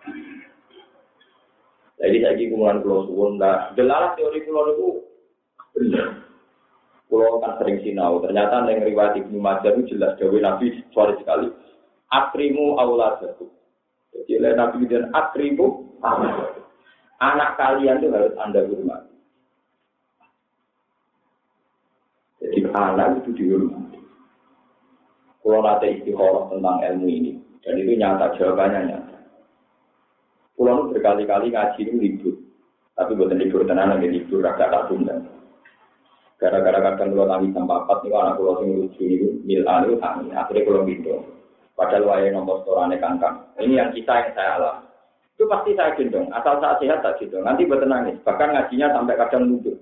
Jadi saya ingin kumpulan pulau suwun, delalah teori pulau itu benar. Pulau kan sering sinau, ternyata yang riwayat Ibnu Majah itu jelas dawuh Nabi suara sekali. Akrimu auladakum. Jadi oleh Nabi dan akrimu auladakum. Anak kalian itu harus Anda hormati. Jadi anak itu dihormati. Kalau nanti istikharah tentang ilmu ini, dan itu nyata, jawabannya nyata. Pulau itu berkali-kali ngaji itu libur, tapi bukan libur tenan, lagi libur agak tak tunda. Gara-gara kadang kalau tangi sampai empat, itu anak pulau yang lucu itu, milan itu tangi, akhirnya pulau gendong. Padahal waya nomor storane kangkang. Ini yang kita yang saya alami. Itu pasti saya gendong, asal saya sehat tak gendong. Nanti buat nangis, bahkan ngajinya sampai kadang lucu.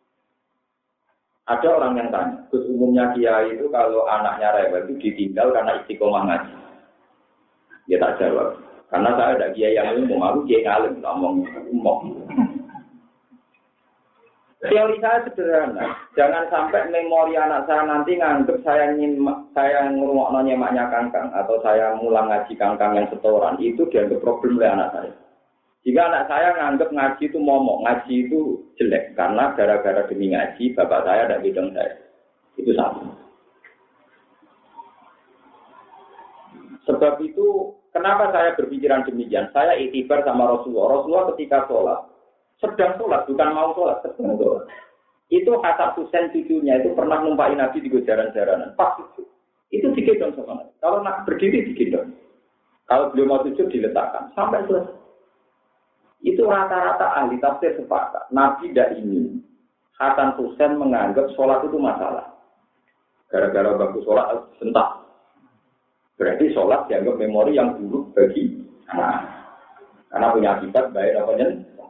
Ada orang yang tanya, terus umumnya kiai itu kalau anaknya rewel itu ditinggal karena istiqomah ngaji. Dia tak jawab, karena saya ada kiai yang umum, aku kiai ngalim, ngomong umum. Teori saya sederhana, jangan sampai memori anak saya nanti nganggep saya ingin saya ngurungokno nyemaknya kangkang atau saya mulang ngaji kangkang yang setoran itu dianggap problem oleh anak saya. Jika anak saya nganggep ngaji itu momok, ngaji itu jelek karena gara-gara demi ngaji bapak saya dan bidang saya itu sama. Sebab itu kenapa saya berpikiran demikian? Saya iktibar sama Rasulullah. Rasulullah ketika sholat sedang sholat, bukan mau sholat, sedang sholat. Itu Hasan Husain cucunya itu pernah numpain Nabi di jaran-jaranan. Pas itu, itu digendong sama Nabi. Kalau nak berdiri digendong. Kalau beliau mau sujud diletakkan sampai selesai. Itu rata-rata ahli tafsir sepakat. Nabi tidak ingin Hasan Husain menganggap sholat itu masalah. Gara-gara bagus sholat sentak. Berarti sholat dianggap memori yang buruk bagi anak. Karena punya akibat baik apa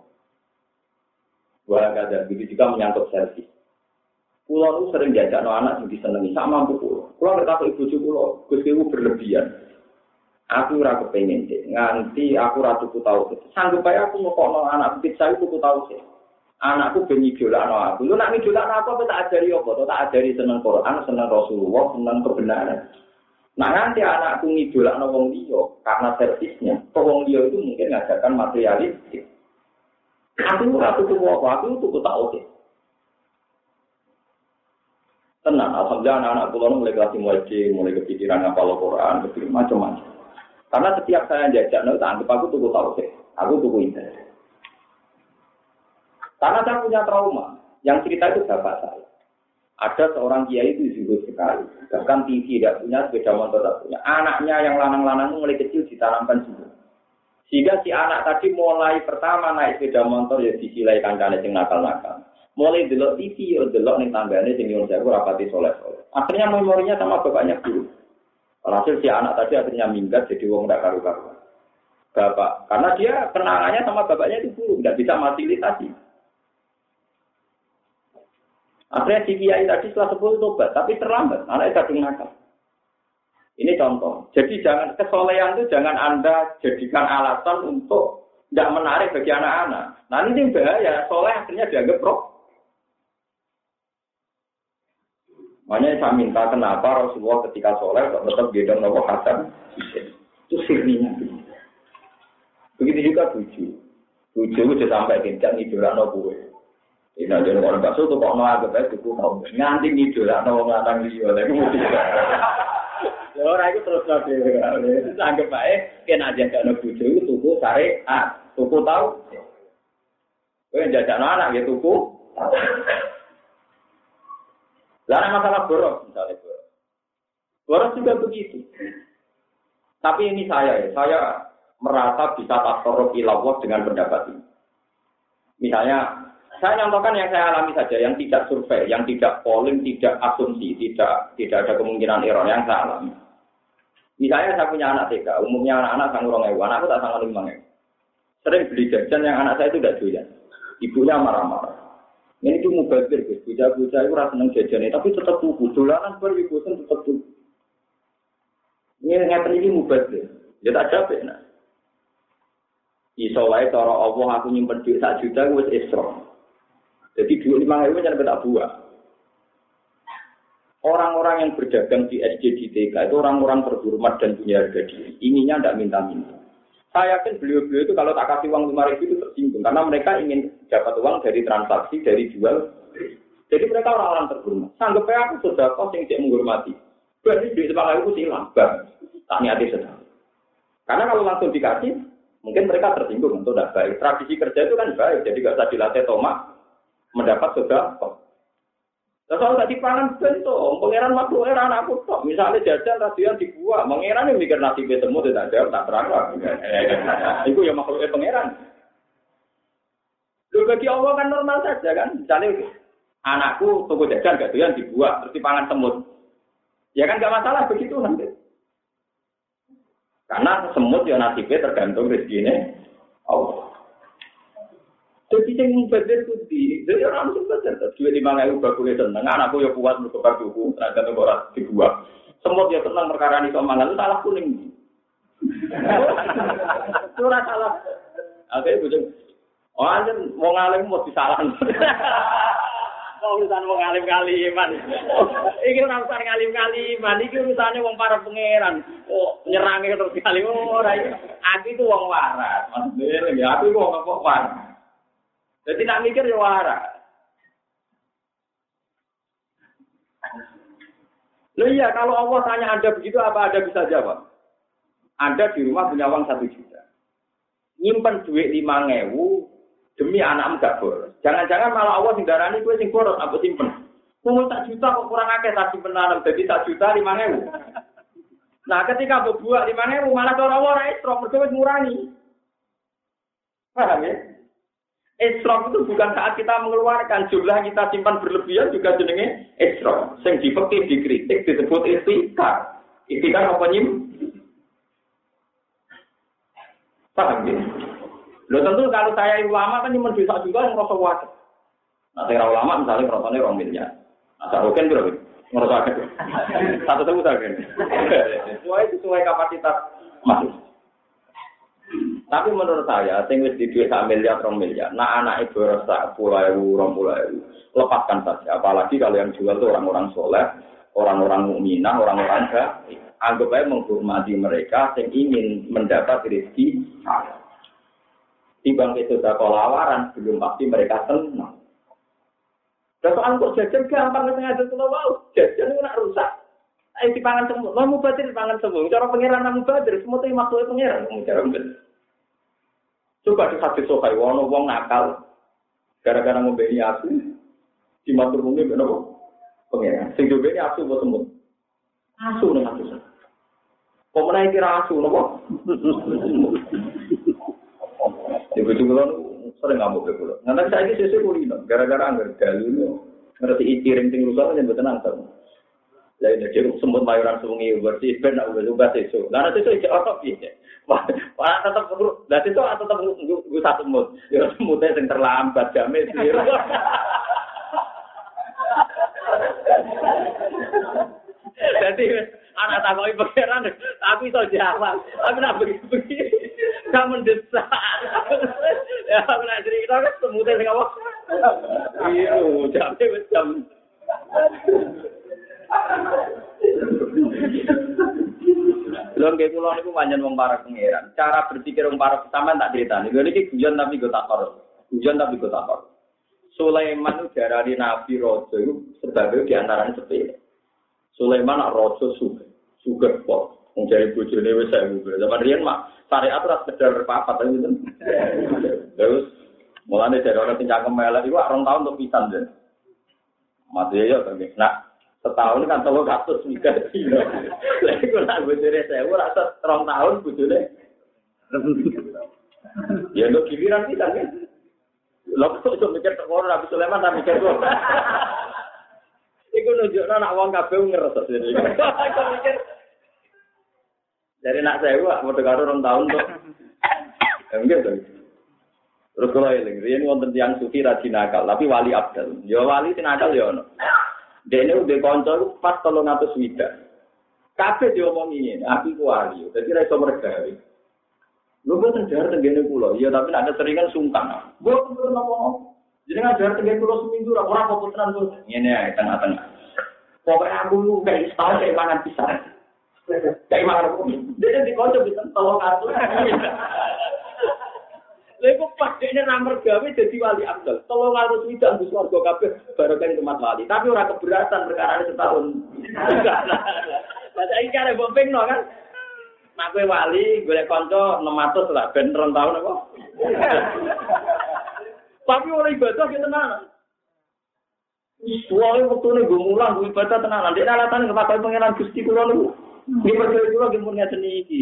Wah, ada begitu juga menyangkut servis. Pulau itu sering diajak anak yang disenangi sama mampu pulau. Pulau berkata ibu cucu pulau, Gustiwu berlebihan. Aku ora kepengen sih, nganti aku ratu ku tahu sih. Sanggup aja aku ngokokno anak kecil saya ku tahu sih. Anakku ben idolakno aku. Lu nak idolakno aku apa tak ajari apa? Tak ajari seneng Quran, seneng Rasulullah, seneng kebenaran. Nah nanti anakku ngidolakno wong liya karena servisnya. Wong liya itu mungkin ngajarkan materialistik. Aku ratu tuku apa? Aku tuku tak oke. Tenang, alhamdulillah anak-anak pulau mulai kelas mulai D, mulai kepikiran ngapal Quran, kepikiran macam-macam. Karena setiap saya jajak, no, tak anggap aku tuku tak oke. Aku tuku indah. Karena saya punya trauma. Yang cerita itu bapak saya. Ada seorang kiai itu zuhud sekali. Bahkan T V tidak punya, sepeda motor tidak punya. Anaknya yang lanang-lanang mulai kecil ditanamkan zuhud. Sehingga si anak tadi mulai pertama naik sepeda motor ya disilai kancane sing nakal-nakal. Mulai delok T V yo delok ning tanggane sing nyuwun sewu rapati soleh-soleh. Akhirnya memorinya sama bapaknya guru. Alhasil si anak tadi akhirnya minggat jadi wong ndak karu-karuan. Bapak, karena dia kenangannya sama bapaknya itu guru, nggak bisa fasilitasi. Akhirnya si kiai tadi setelah sepuluh tobat, tapi terlambat, anaknya kadung nakal. Ini contoh. Jadi jangan kesolehan itu jangan Anda jadikan alasan untuk tidak menarik bagi anak-anak. Nah ini bahaya. Soleh akhirnya dianggap pro. Makanya saya minta kenapa Rasulullah ketika soleh tetap gendong Nabi Hasan itu sirninya. Begitu juga tujuh. Tujuh itu sampai tingkat idola Nabi. Ini aja orang bakso tuh kok nolak ke itu kau nganti idola Nabi ngatang dia lagi mesti. Orang itu terus lagi, anggap baik, kena aja kalau bujuk itu tuku sare, ah, tuku tahu, kau yang jajan anak ya tuku. Lalu masalah boros, misalnya boros, boros juga begitu. Tapi ini saya, ya, saya merasa bisa tasarruf ilawah dengan pendapat ini. Misalnya, saya contohkan yang saya alami saja, yang tidak survei, yang tidak polling, tidak asumsi, tidak tidak ada kemungkinan error yang saya alami. Misalnya saya punya anak T K, umumnya anak-anak sang urang ewu, anakku tak sang lima ewu. Sering beli jajan yang anak saya itu tidak doyan. Ibunya marah-marah. Ini itu mubazir, guys. Bocah-bocah itu rasa seneng jajan, tapi tetap tuku. Dolanan baru ibu-ibu tetap tuku. Ini ngeten iki mubazir. Ya tak capek nah. Iso wae cara Allah aku nyimpen duit sak juta wis isra. Jadi duit lima ewu jangan tak buah. Orang-orang yang berdagang di S D di T K itu orang-orang terhormat dan punya harga diri. Ininya tidak minta-minta. Saya yakin beliau-beliau itu kalau tak kasih uang lima ribu itu tersinggung. Karena mereka ingin dapat uang dari transaksi, dari jual. Jadi mereka orang-orang terhormat. Sanggup ya aku sudah kos yang tidak menghormati. Berarti duit lima ribu silang. Bang, tak niati sedang. Karena kalau langsung dikasih, mungkin mereka tersinggung. Itu tidak baik. Tradisi kerja itu kan baik. Jadi tidak usah dilatih tomak. Mendapat sudah kos. Kalau tak dipangan bentuk, pangeran makhluk era anakku tok. Misalnya jajan rasian dibuat, pangeran yang mikir nasibnya temu tidak jawab, tak terang lah. Itu ya makhluknya pangeran. Loh bagi Allah kan normal saja kan. Misalnya anakku toko jajan gak doyan dibuat, terus dipangan semut. Ya kan gak masalah begitu nanti. Karena semut ya nasibnya tergantung rezekinya Allah. Jadi yang mubazir itu di, jadi orang mubazir. Dua lima ribu bagus seneng, anakku ya kuat berkobar duku, tergantung orang dibuat. Semut ya seneng perkara ini somangan itu salah kuning. Itu salah. Oke, bujung. Oh, anjir mau ngalim mau disalahan. Kok urusan wong alim-kaliman. Iki ora urusan alim-kaliman, iki urusane wong para pangeran. Kok nyerange terus kali ora iki. Aku itu wong waras. Maksudnya ya aku itu wong kok waras. Jadi nak mikir ya waras. Loh iya, kalau Allah tanya Anda begitu, apa Anda bisa jawab? Anda di rumah punya uang satu juta. Nyimpen duit lima ribu demi anak enggak boros. Jangan-jangan malah Allah singgarani gue sing boros, apa simpen. Ngomong tak juta kok kurang akeh tak simpenan, jadi tak juta lima ribu. Nah ketika berbuat lima ribu, malah cara Allah ora istrof, mergo wis ngurangi. Paham ya? Isrof itu bukan saat kita mengeluarkan jumlah kita simpan berlebihan juga jenenge isrof. Sing dipekih dikritik disebut istikar. Istikar apa nyim? Paham ya? Loh tentu kalau saya ulama kan nyimpen bisa juga yang merasa wajar. Nah saya ulama misalnya merasanya orang miliar. Nah saya roken berapa? Merasa wajar. Satu satu saja. Sesuai sesuai kapasitas masuk. Tapi menurut saya, sing wis di duit sak miliar, rong miliar, nah anak ibu rasa puluh ewu, rong puluh ewu, lepaskan saja. Apalagi kalau yang jual itu orang-orang soleh, orang-orang mukminah, orang-orang baik. Anggap aja menghormati mereka yang ingin mendapat rezeki halal. Timbang itu sudah kolawaran, belum pasti mereka senang. Dan soal kok jajan gampang sengaja kalau mau, jajan itu nak rusak. Ayo dipangan semua, mau mubadir dipangan semua. Cara pengiran namu mubadir, semua itu maksudnya pengiran. Cara mubadir. Coba di hadis sokai, wono wong nakal, gara-gara membeli asu, di matur mungkin benar pengiran. Sing dibeli asu buat semut, asu nih asu. Kau menaik kira asu, nopo? Ibu juga sering ngamuk betul. Nanti saya ini sesuai kuliner, gara-gara anggar galunya, ngerti itiring tinggal rusak aja betul nangkep. Lain jadi semut mayoran sungai bersih, benar udah juga sesuai. Karena sesuai jauh ya. Wah, tetap perlu. Dan itu tetap gue satu semut. Ya semutnya yang terlambat jamin sih. Jadi anak takoi pangeran, tapi iso jawab. Tapi nak begini-begini, gak mendesak. Ya, aku nak cerita kan semutnya sing apa? Biru, jamnya wis jam. Lho nggih kula niku pancen wong para pangeran. Cara berpikir wong para sampean tak critani. Lho niki guyon tapi go takor. Guyon tapi go takor. Sulaiman itu diarani nabi raja itu sebagai di antaranya sepele. Sulaiman nak raja sugih. Sugih kok. Wong jare bojone wis sewu. Zaman riyen mak syariat ora sekedar papat aja gitu. Terus mulane dari orang sing cangkem elek iku rong tahun untuk pisan deh. Mati ya to nggih. Nah, setahun kan telur ratus mikir dino. Lah iku nak bojone sewu ora rong tahun bojone. Ya lo giliran pisan kan. Lha kok iso mikir tok ora Nabi Sulaiman ta mikir kok. Iku nunjukno nak wong kabeh ngeres dene. Kok mikir dari nak sewu padha karo rong tahun kok. Enggak to. Terus kalau eling, riyen wonten tiyang sufi ra dinakal, tapi wali abdal. Ya wali tinakal ya ono. Dene udah kanca pas telung atus swidak. Kabeh diomongi ngene, aku ku wali. Dadi ra iso mergawe. Lho boten jar tengene kula. Ya tapi nek seringan sungkan. Mboten purun apa. Jenengan jar tengene kula seminggu ora ora apa tenan kok. Ngene ae tengah-tengah. Pokoke aku lu kayak setahun kayak mangan pisang. Kayak mangan apa? Dene di kanca bisa telung atus. Lha pas dekne ra mergawe dadi wali abdal. Telung atus widak wis warga kabeh barokah tempat wali. Tapi ora keberatan perkara setahun. Lah saiki kare mbok pingno kan. Nek kowe wali golek kanca enam ratus lah ben rong tahun apa. Tapi ora ibadah ki tenan. Suwe wektune nggo mulang nggo ibadah tenan. Nek alasan kepakai pangeran Gusti kula niku. Nggih percaya kula nggih mun ngeten iki.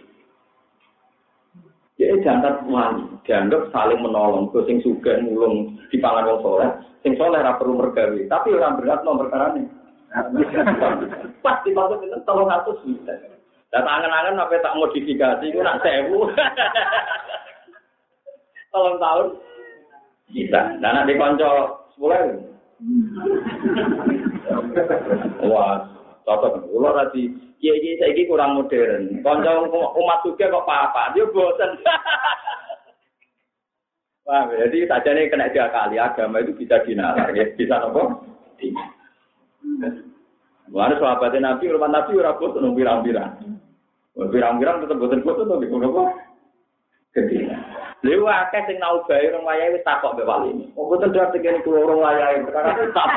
Ya jangan wali, dianggap saling menolong. Kau sing sugih mulung di pangan wong soleh, sing soleh ora perlu mergawe. Tapi orang berat nomor perkarane. Pas di pasal itu tolong atus bisa. Dan angen-angen apa tak modifikasi, itu nak sewu. Tolong tahun bisa. Dan nak dikonco sepuluh. Wah, cocok. Ular tadi. Kiai-kiai saiki kurang modern. Kanca umat juga kok apa-apa, dia bosen. Wah, jadi saja nih kena dia kali agama itu bisa dinalar, ya bisa apa? Mana sahabatnya Nabi, rumah Nabi ora foto nung pirang-pirang. Pirang-pirang tetep boten foto to ngono apa? Gede. Lha akeh sing nau bae orang wayahe wis takok mbek wali. Kok boten dadi kene kula orang wayahe perkara tak.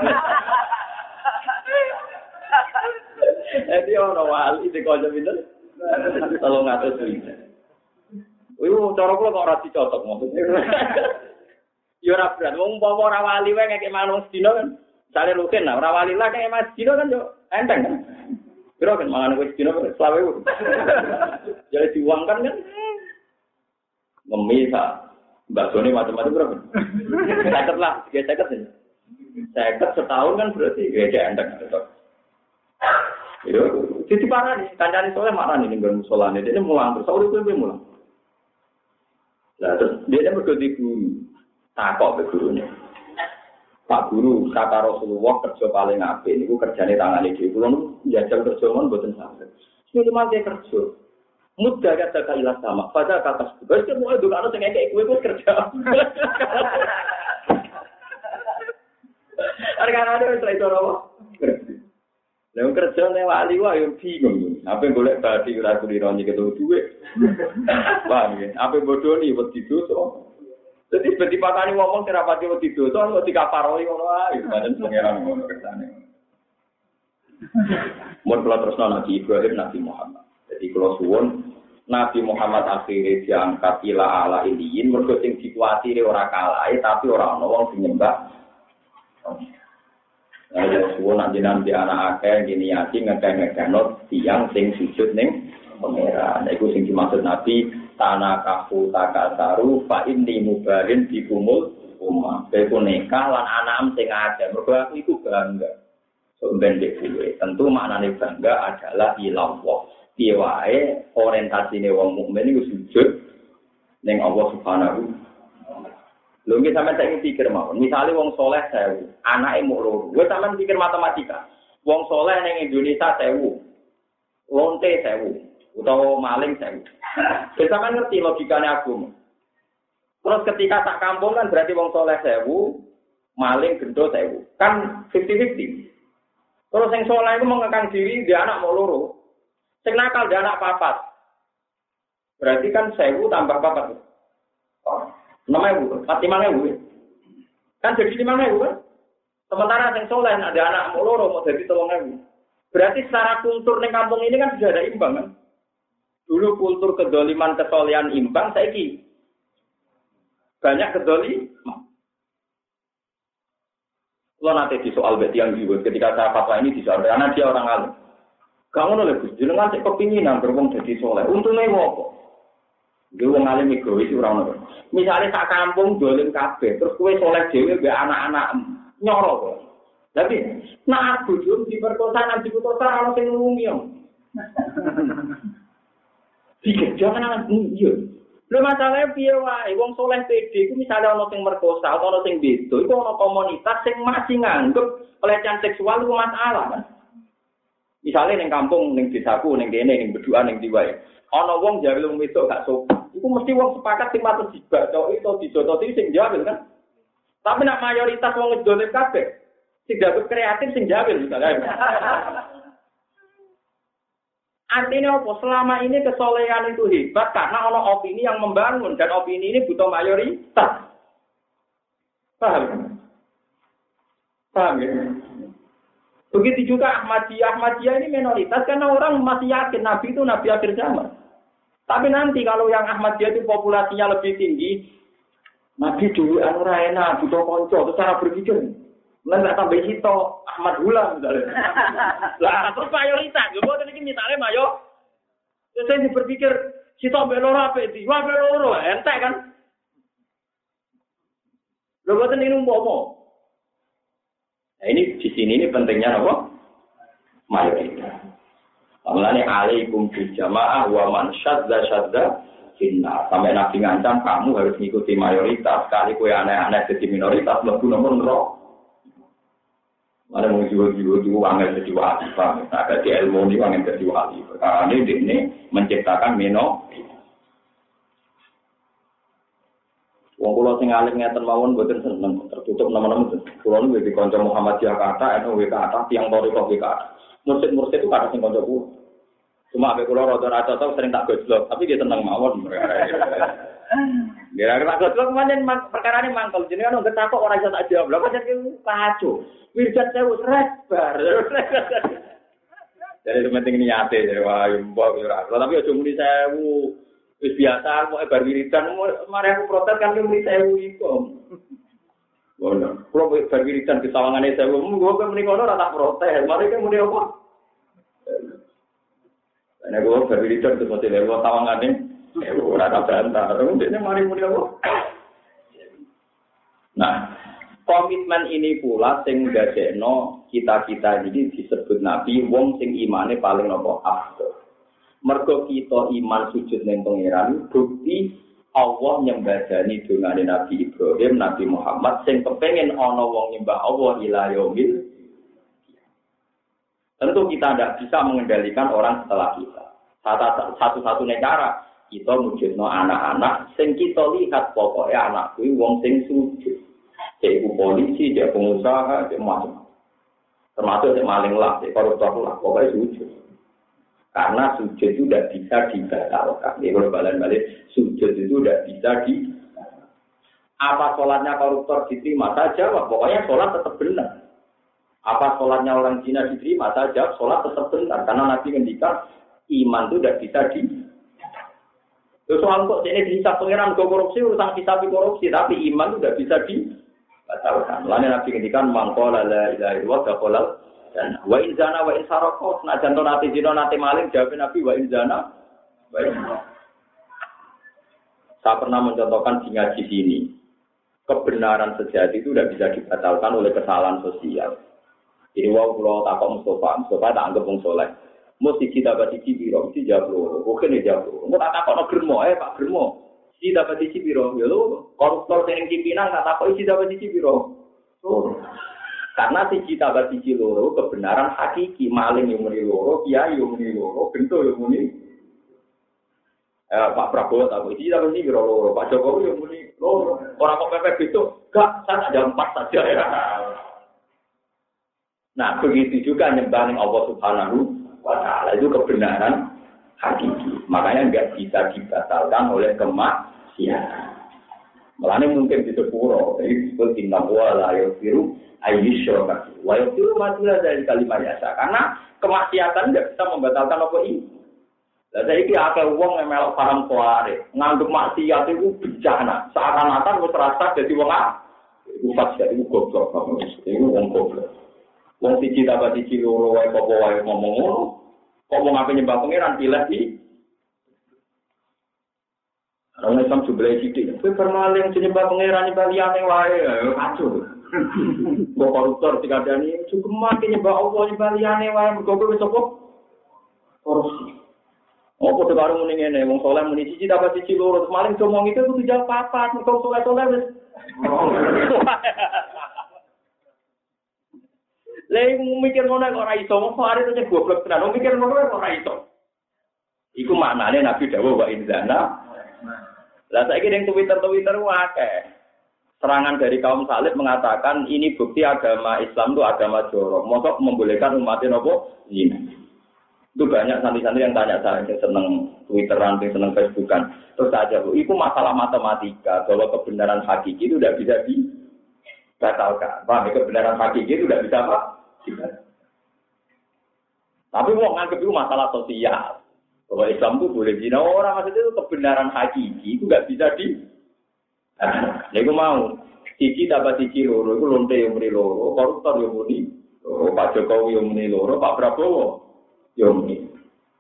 Jadi ono wali dikonco pinten? Tolong ngatus pinten. Iku cara kula kok ora dicocok maksudnya. Ya ora berat, wong umpama ora wali wae ngekek manung sedina kan. Sale rutin lah, ora wali lah kaya Mas Dino kan yo enteng kan. Piro kan mangan wis dino selawe. Jadi diuangkan kan. Ngemi sa bakone macam-macam berapa? Seket lah, tiga seket ini. Seket setahun kan berarti ya enteng. Yo, jadi parah nih, kancane soalnya marah nih nggon musolane, dia mulang terus urip kuwi mulang. Lah terus dia mergo di guru. Takok be gurune. Pak Guru, kata Rasulullah kerja paling apik niku kerjane tangane dhewe. Kulo njajal kerja mon mboten saged. Sing mate kerja. Mudah kata kailah sama. Pada kata wis kok itu karo sing ngekek kowe kerja. Arek-arek wis ra iso apa. Lah kerja nek wali wae yo bingung. Apa golek badi ora kuliro nyeketho duwe. Paham ya? Apa bodoni wedi dosa. Jadi seperti patani ngomong serapati wedi dosa kok dikaparoi ngono ae, pancen pengeran ngono kersane. Mun kula tresno Nabi Ibrahim Nabi Muhammad. Jadi kula suwun Nabi Muhammad akhire diangkat ila ala iliyin mergo sing dikuwatire ora kalahe tapi ora ana wong sing nyembah. Ya suwun anjenan di anak akeh gini yati ngekek-ngekekno tiyang sing sujud ning pengeran. Iku sing dimaksud Nabi tanah kafu takasaru fa inni mubarin bikumul umma beko nikah lan anam sing akeh mergo aku iku bangga sok ben dhewe tentu maknane bangga adalah ilallah piye wae orientasine wong mukmin iku sujud ning Allah Subhanahu lho nggih sampeyan tak pikir mawon misale wong saleh sewu anake muk loro wis sampeyan pikir matematika wong saleh ning Indonesia sewu lonte sewu utawa maling sewu. Kita kan ngerti logikanya agama. Terus ketika tak kampung kan berarti wong soleh sewu, maling gendo sewu. Kan fifty fifty. Terus yang soleh itu mengekang diri, dia anak mau loro. Sing nakal dia anak papat. Berarti kan sewu tambah papat. Oh, enam ewu, empat lima ewu. Kan jadi lima ewu kan? Sementara yang soleh ada anak mau loro mau jadi tolong ewu. Berarti secara kultur di kampung ini kan sudah ada imbang kan? Dulu kultur kedoliman kesolehan imbang, saiki banyak kedoli. Kalau nanti di soal beti yang dibuat ketika saya fatwa ini disoal, karena dia orang alim. Kamu nolak gus, jangan cek kepinginan berbong jadi soleh. Untungnya apa? Dia orang alim egois orang nolak. Misalnya tak kampung dolim kafe, terus kue soleh dewi be anak-anak nyorok. Tapi nak aku jum di perkosa nanti putus orang sing ngumum. Pikir jangan anak iya. Lha masalahe piye wae wong soleh pede iku misale ana sing merkosa atau ana sing beda iku ana komunitas sing masih nganggep pelecehan seksual iku masalah kan. Misale ning kampung ning desaku ning kene ning beduan ning diwae. Ana wong jare wong wedok gak sopan. Iku mesti wong sepakat sing patut dibacoki utawa dijototi sing jawel kan. Tapi nek mayoritas wong ngedol kabeh sing dapat kreatif sing jawel misalnya. Artinya apa? Selama ini kesolehan itu hebat karena ada opini yang membangun dan opini ini butuh mayoritas. Paham? Paham ya? Begitu juga Ahmadiyah. Ahmadiyah ini minoritas karena orang masih yakin Nabi itu Nabi akhir zaman. Tapi nanti kalau yang Ahmadiyah itu populasinya lebih tinggi, Nabi dulu anu enak, butuh konco, itu cara berpikir. Nggak tambah hito Ahmad Hulam misalnya. Lah terus mayoritas, gue buat ini misalnya mayo. Terus saya berpikir hito beloro apa itu? Wah beloro, ente kan? Gue buat ini umpomo. Nah ini di sini ini pentingnya apa? Mayoritas. Mulane alaikum bil jamaah wa man syadza syadza finna. Sampai Nabi ngancam kamu harus mengikuti mayoritas. Kali kowe aneh-aneh jadi minoritas mlebu nomor neraka. Ada mau jiwa-jiwa itu angin jadi wali, Pak. Agak di ilmu ini angin jadi wali. Perkara ini ini menciptakan mino. Wong kula sing alim ngeten mawon mboten seneng tertutup nama-nama. Kula niku di kanca Muhammadiyah kata, N U kata, tiang Toriko kata. Mursid-mursid itu kata sing kanca kula. Cuma ambek kula rada rada tau sering tak gojlok, tapi dia tenang mawon. Kira-kira gojlok pancen perkarane mangkel jenengan nang ketakok ora iso tak jawab. Lha pancen kacau. Wirjat sewu sret bar. Jadi penting niate jadi wah mbok ora. Tapi aja muni sewu. Wis biasa kok bar wiridan mari aku protes kan muni sewu iku. Ngono. Kulo bar wiridan di sawangane sewu, monggo kok muni kono ora tak protes. Mari kan muni apa? Nek gue berwiridan terus mesti lewat tawangannya, ora tak bantah. Terus dia mari muni apa? Nah, komitmen ini pula sing gadekno kita-kita ini disebut Nabi wong sing imane paling nopo afdal. Mergo kita iman sujud ning pangeran bukti Allah nyembadani dongane Nabi Ibrahim, Nabi Muhammad sing kepengin ana wong nyembah Allah ila yaumil. Tentu kita tidak bisa mengendalikan orang setelah kita. Satu-satunya cara kita wujudno anak-anak sing kita lihat pokoknya anak kuwi wong sing sujud. Jadi polisi, dia pengusaha, dia macam. Termasuk dia maling lah, dia koruptor lah, pokoknya sujud. Karena sujud itu tidak bisa dibatalkan. Ini kalau balik-balik, sujud itu tidak bisa di. Apa sholatnya koruptor diterima saja, pokoknya sholat tetap benar. Apa sholatnya orang Cina diterima saja, sholat tetap benar. Karena Nabi ngendikan iman itu tidak bisa di. Terus soal kok ini dihisab pengiran ke korupsi, urusan hisab korupsi, tapi iman itu tidak bisa di. Batalkan. Lalu Nabi ngendikan mangkola la ilaha illallah dakolal dan wa in zana wa in saroko. Nah jantung nanti zino nanti maling jawab Nabi wa in zana wa in. Saya pernah mencontohkan di ngaji sini. Kebenaran sejati itu tidak bisa dibatalkan oleh kesalahan sosial. Jadi wow kalau takut Mustafa, Mustafa tak anggap wong soleh. Mesti kita bagi cibiro, mesti jablo. Bukan ya jablo. Mau tak takut no germo, eh Pak germo. Si dapat isi biro, ya lo koruptor yang pimpinan nggak tahu isi dapat isi biro. Oh. Karena si cita dapat isi loro kebenaran hakiki maling yang muni loro, kiai yang muni loro, bentuk yang muni. Eh, Pak Prabowo tahu isi dapat isi biro loro, Pak Jokowi yang muni loro. Orang kok pepek itu, gak, saya ada empat saja ya. Nah begitu juga nyembahin Allah Subhanahu Wa Taala itu kebenaran hakiki. Makanya nggak bisa dibatalkan oleh kemak. Ya, melane mungkin di sepuro, jadi disebut tindak wala yofiru ayyusho kasih. Wayofiru matilah dari kalimat yasa, karena kemaksiatan tidak bisa membatalkan apa ini. Lalu saya ini ada uang yang melok paham soare, ngandung maksiat itu bencana. Seakan-akan gue terasa jadi uang ah, ufat jadi gue goblok, itu uang goblok. Uang siji dapat siji loro, wae kok wae ngomong ngono, kok mau ngapain nyembah pangeran pilih di. Orang Islam juga sidik. Tapi permaling nyembah pangeran nyembah liyane wae, kacau. Mbok koruptor dikandani cukup mati nyembah Allah nyembah liyane wae, mergo kowe wis apa? Korupsi. Apa to karo muni ngene, wong saleh muni siji dapat siji loro, maling ngomong itu kudu jawab papat, mergo saleh-saleh wis. Lha mikir ngono kok ora iso, wong arep nyek goblok tenan, mikir ngono kok ora iso. Iku maknane Nabi dawuh wa inzana. Lah saiki ning Twitter-Twitter akeh. Serangan dari kaum salib mengatakan ini bukti agama Islam itu agama jorok. Mosok membolehkan umatnya nopo zina. Itu banyak santri-santri yang tanya saya, yang seneng Twitteran, yang seneng Facebookan. Terus aja, Bu, itu masalah matematika bahwa kebenaran hakiki itu tidak bisa dibatalkan. Paham? Kebenaran hakiki itu tidak bisa apa? Dibatalkan. Tapi mau nganggep itu masalah sosial. Bahwa Islam itu boleh zina orang, maksudnya itu kebenaran hakiki itu nggak bisa di. Nah, aku mau siji dapat siji loro, itu lonte yang muni loro, koruptor yang muni, loro, Pak Jokowi yang muni loro, Pak Prabowo yang muni.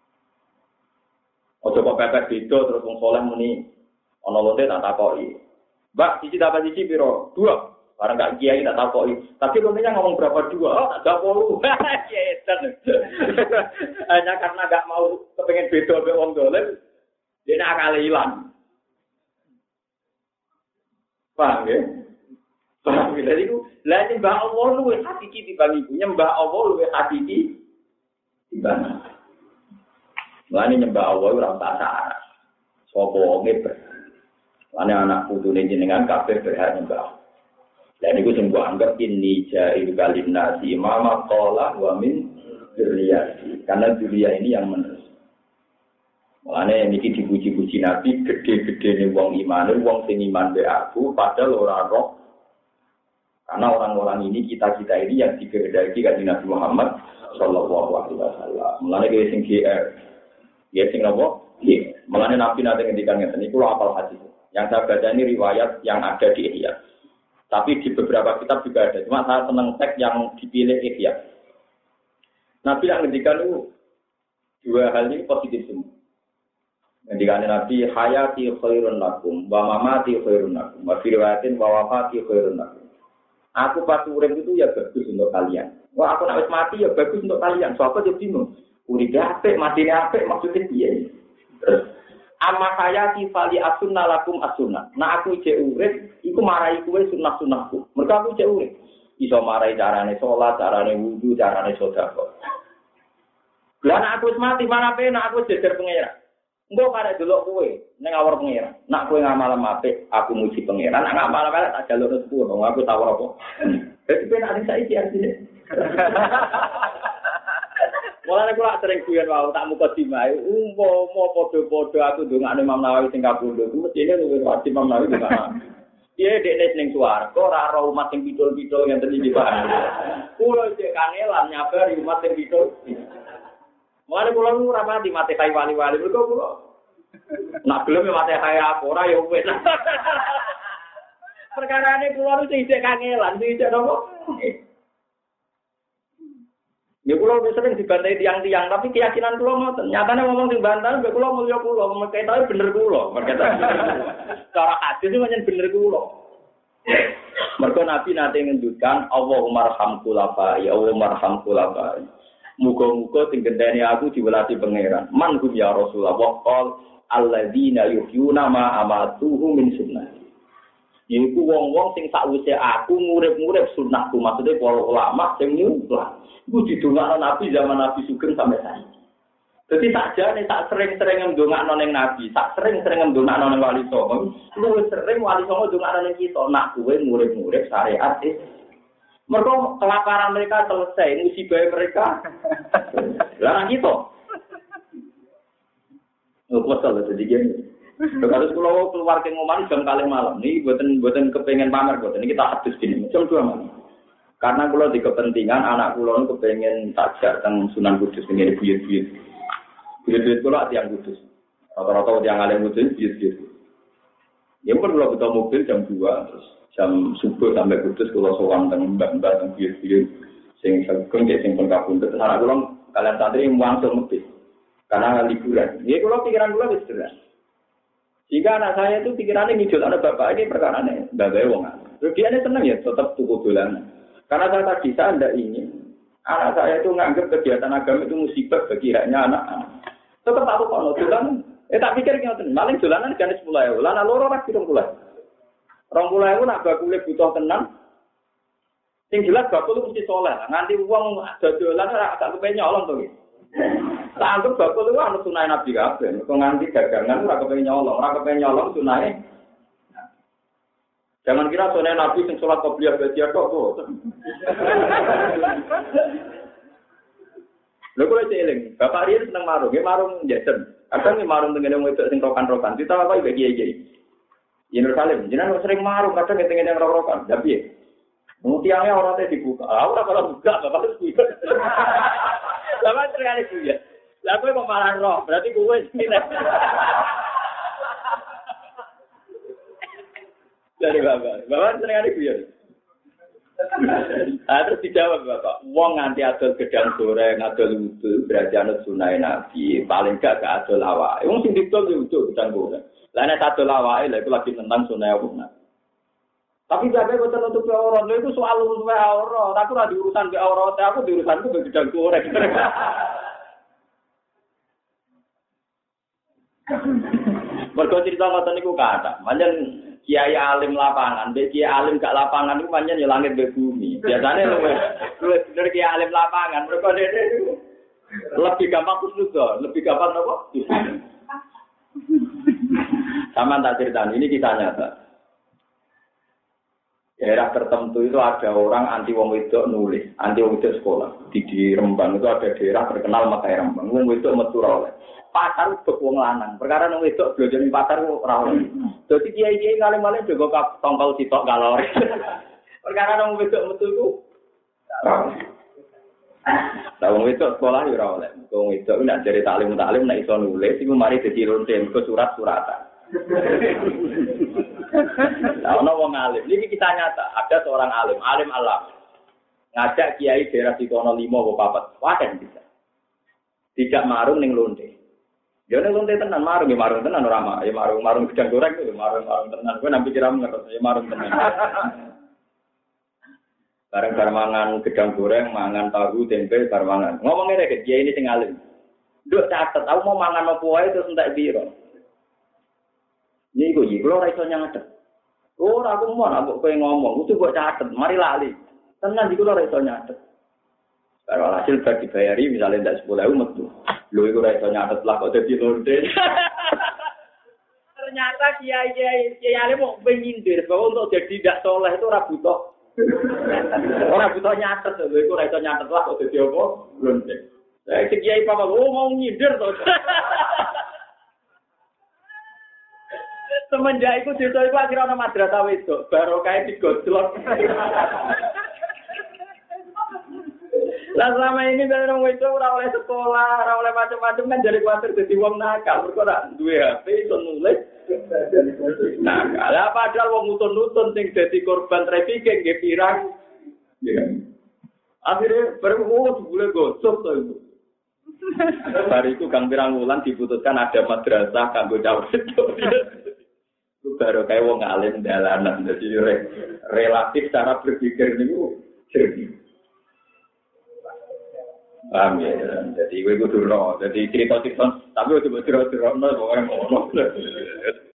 Ojo kok pepet beda terus wong saleh muni, ana lonte tak takoki. Mbak, siji dapat siji piro? Dua. Barang gak kiai tak takoki. Tapi lontenya ngomong berapa dua? Oh, tak puluh. Hanya karena gak mau kepengen beda mbek wong dolen, dia akal ilang. Paham ya? Paham ya? Jadi itu, lah nyembah Allah luwih hakiki dibanding iku. Nyembah Allah luwih hakiki dibanding. Lah nyembah Allah ora usah syarat. Sopo ngeber. Lane anak putune jenengan kabeh berhak nyembah. Dan itu sing gua anggap ini jairu kalim nasi mama qala wa min dzurriyyati. Karena dzurriyyah ini yang menerus. Mulane niki dipuji-puji Nabi gede-gedene wong iman, wong sing iman be aku padahal ora roh. Karena orang-orang ini kita-kita ini yang dikehendaki kanjeng Nabi Muhammad sallallahu alaihi wasallam. Mulane ge sing G R. Ya sing apa? Nggih. Mulane Nabi nate ngendikan ngeten niku hafal hadis. Yang saya baca ini riwayat yang ada di Ihya. Tapi di beberapa kitab juga ada. Cuma saya senang teks yang dipilih Ihya. Nabi yang ngendikan itu dua hal ini positif semua. Ngendikan Nabi hayati khairun lakum wa mamati khairun lakum wa firwatin wa wafati khairun lakum. Aku pas urip itu ya bagus untuk kalian. Wah aku nak wis mati ya bagus untuk kalian. Sopo yo bingung. Uripe apik, matine apik maksudnya piye? Terus amma hayati fali asunna lakum asunna. Nah aku cek urip iku marai kowe sunah-sunahku. Mergo aku cek urip. Iso marai carane salat, carane wudu, carane sedekah. Lah nek aku wis mati mana penak aku jejer pangeran. Engko karek delok kowe ning awor pangeran. Nak kowe ngamal apik, aku muji pangeran. Nak ngamal elek tak jaluk rezeki wong aku tawar apa. Dadi penak ning saiki artine. Mulane kula sering guyon wae tak muka dimae umpama padha-padha aku ndongakne Imam Nawawi sing kapundhut mestine luwih wajib Imam Nawawi ndongakne. Piye dekne ning swarga ora ora umat sing pidul-pidul ngenten iki Pak. Kula cek kangelan nyabari umat sing pidul. Mulane kula nu ora mati mate kai wali-wali mergo kula. Nak gelem mate kai apa ora ya wis. Perkarane kula nu sing cek kangelan sing cek nopo? Ya kula wis sering dibantai tiang-tiang, tapi keyakinan kula ngoten. Nyatane ngomong sing bantah, mbek kula mulya kula, mengke tahu bener kula. Mergo cara hadis itu pancen bener kula. Mergo Nabi nate ngendutkan Allahumma arham khulafa, ya Allahumma arham khulafa. Muga-muga sing gendeni aku diwelati pangeran. Man hum ya Rasulullah qol alladzina yuhyuna ma amatuhu min sunnah. Iku wong-wong sing sakwise aku ngurip-ngurip sunahku, maksudnya para ulama sing nyumpah. Iku didongakno Nabi zaman Nabi Sugeng sampai saiki. Dadi sakjane sak sering-sering ndongakno ning Nabi, sak sering-sering ndongakno ning Wali Songo, luwih sering Wali Songo ndongakno ning kita, nak kowe ngurip-ngurip syariat iki. Mergo kelaparan mereka selesai, musibah mereka. Lah kita. Oh, kosol dadi gini. Terus kalau keluar ke ngomong jam kali malam, nih buatan buatan kepengen pamer buatan ini kita habis gini, jam dua malam. Karena kalau di kepentingan anak kulo kepengen tajak tentang Sunan Kudus ini buyut-buyut, buyut-buyut kulo tiang Kudus, rata-rata tiang alim Kudus buyut-buyut. Ya pun kalau kita mobil jam dua, terus jam subuh sampai Kudus kulo sowan tentang mbak-mbak tentang buyut-buyut, sing segeng cek sing pengkabun. Terus anak kulo kalian santri muangsul mobil, karena liburan. Ya kulo pikiran kulo wis jelas. Jika anak saya itu pikirannya ngidul anak bapak ini perkara aneh, bapak wong. Terus dia ini senang ya tetap tuku dolanan. Karena saya tadi saya tidak ingin anak saya itu menganggap kegiatan agama itu musibah bagi haknya anak-anak. Tetap aku kalau dolanan, eh tak pikir ngeten, maling dolanan jenis sepuluh ewu, lana loro rak pirang puluh. Rong puluh ewu nak bakule butuh tenang. Sing jelas bakul mesti soleh. Nganti uang dodolan ora agak kepen nyolong to. Tak anggap bakul itu anu sunah Nabi kabeh. Kok nganti dagangan ora kepen nyolong, ora kepen nyolong sunahe. Jangan kira sunah Nabi sing salat qobliyah badiah tok kok. Lha kok eling, Bapak Riyen seneng marung, nggih marung jajan. Kadang nggih marung tengene wedok sing rokan-rokan. Kita apa iki kiai-kiai. Yerusalem, jenengan sering marung kadang tengene rok-rokan. Lah piye? Mutiangnya orang teh dibuka. Ah ora kalau buka Bapak harus buka. Bapak terkali buya. Lah kowe kok malah roh, berarti kowe sine. Dari Bapak. Bapak terkali buya. Ah terus dijawab Bapak, wong nganti adol gedang goreng, adol wudu, berarti anut sunah Nabi, paling gak gak adol awake. Wong sing didol yo wudu gedang goreng. Lah nek adol awake lha iku lagi tentang sunah Allah. Tapi jaga betul untuk aurat, itu soal urusan aurat. Aku ada urusan ke aurat, aku di urusanku ke gedang goreng. Mergo cerita ngoten niku kata, pancen kiai alim lapangan, be kiai alim gak lapangan niku pancen ya langit be bumi. Biasane luwih luwih bener kiai alim lapangan, mergo dene lebih gampang kusnudon, lebih gampang apa? Sama tak cerita ini kisah nyata. Daerah tertentu itu ada orang anti wong wedok nulis, anti wong wedok sekolah. Di, di Rembang itu ada daerah terkenal Makai Rembang. Wong wedok metu ora oleh. Pasar bek wong lanang. Perkara wong wedok belajar ning pasar ora oleh. Dadi kiai-kiai ngalim-alim juga tongkol sitok kalori. Perkara wong wedok metu iku ora oleh. Lah wong wedok sekolah yo ora oleh. Wong wedok nek jare taklim taklim nek iso nulis iku mari dadi lonte ke surat-suratan. Nah, ono wong alim. Ini kita nyata. Ada seorang alim, alim alam. Ngajak kiai daerah Sikono lima apa papat. Waken bisa. Tidak marung ning lonte. Dia ning lonte tenan marung, ya marung tenan ora mah. Ya marung marung gedang goreng itu marung-marung tenan. Kowe nampi kira ngerti ya marung tenan. Bareng-bareng mangan gedang goreng, mangan tahu, tempe, bareng mangan. Ngomong ngene ke kiai ini sing alim. Nduk catet, aku mau mangan apa wae terus entek piro. Niku iki kula ora iso nyatet. Ora aku mau nak kowe ngomong, kudu kok catet, mari lali. Tenan iki kula ora iso nyatet. Kalau hasil bar dibayari misalnya ndak sepuluh ribu metu. Lho iku ora iso nyatet lah kok dadi lonte. Ternyata kiai-kiai kiai mau penyindir bahwa untuk jadi tidak soleh itu ora butuh. Ora butuh nyatet, lho iku ora iso nyatet lah kok dadi apa? Lonte. Lah kiai papa oh mau nyindir to. Semenjak itu desa itu akhirnya ada madrasah wedok, baru kayak digojlok. Lah selama ini dari orang wedok ora oleh sekolah, ora oleh macam-macam kan jadi kuatir jadi wong nakal. Mergo ora duwe H P iso nulis. Nakal. Lah padahal wong nutun-nutun sing dadi korban trafficking nggih pirang. Ya. Akhirnya baru oh boleh gosok to itu. Hari itu Kang Pirang Wulan diputuskan ada madrasah kanggo cawe wedok. Baru kayak wong alim dalanan, jadi re, relatif cara berpikir ini jernih. Paham ya, jadi gue kudu no, jadi cerita cerita, tapi gue coba cerita cerita no, orang ngomong,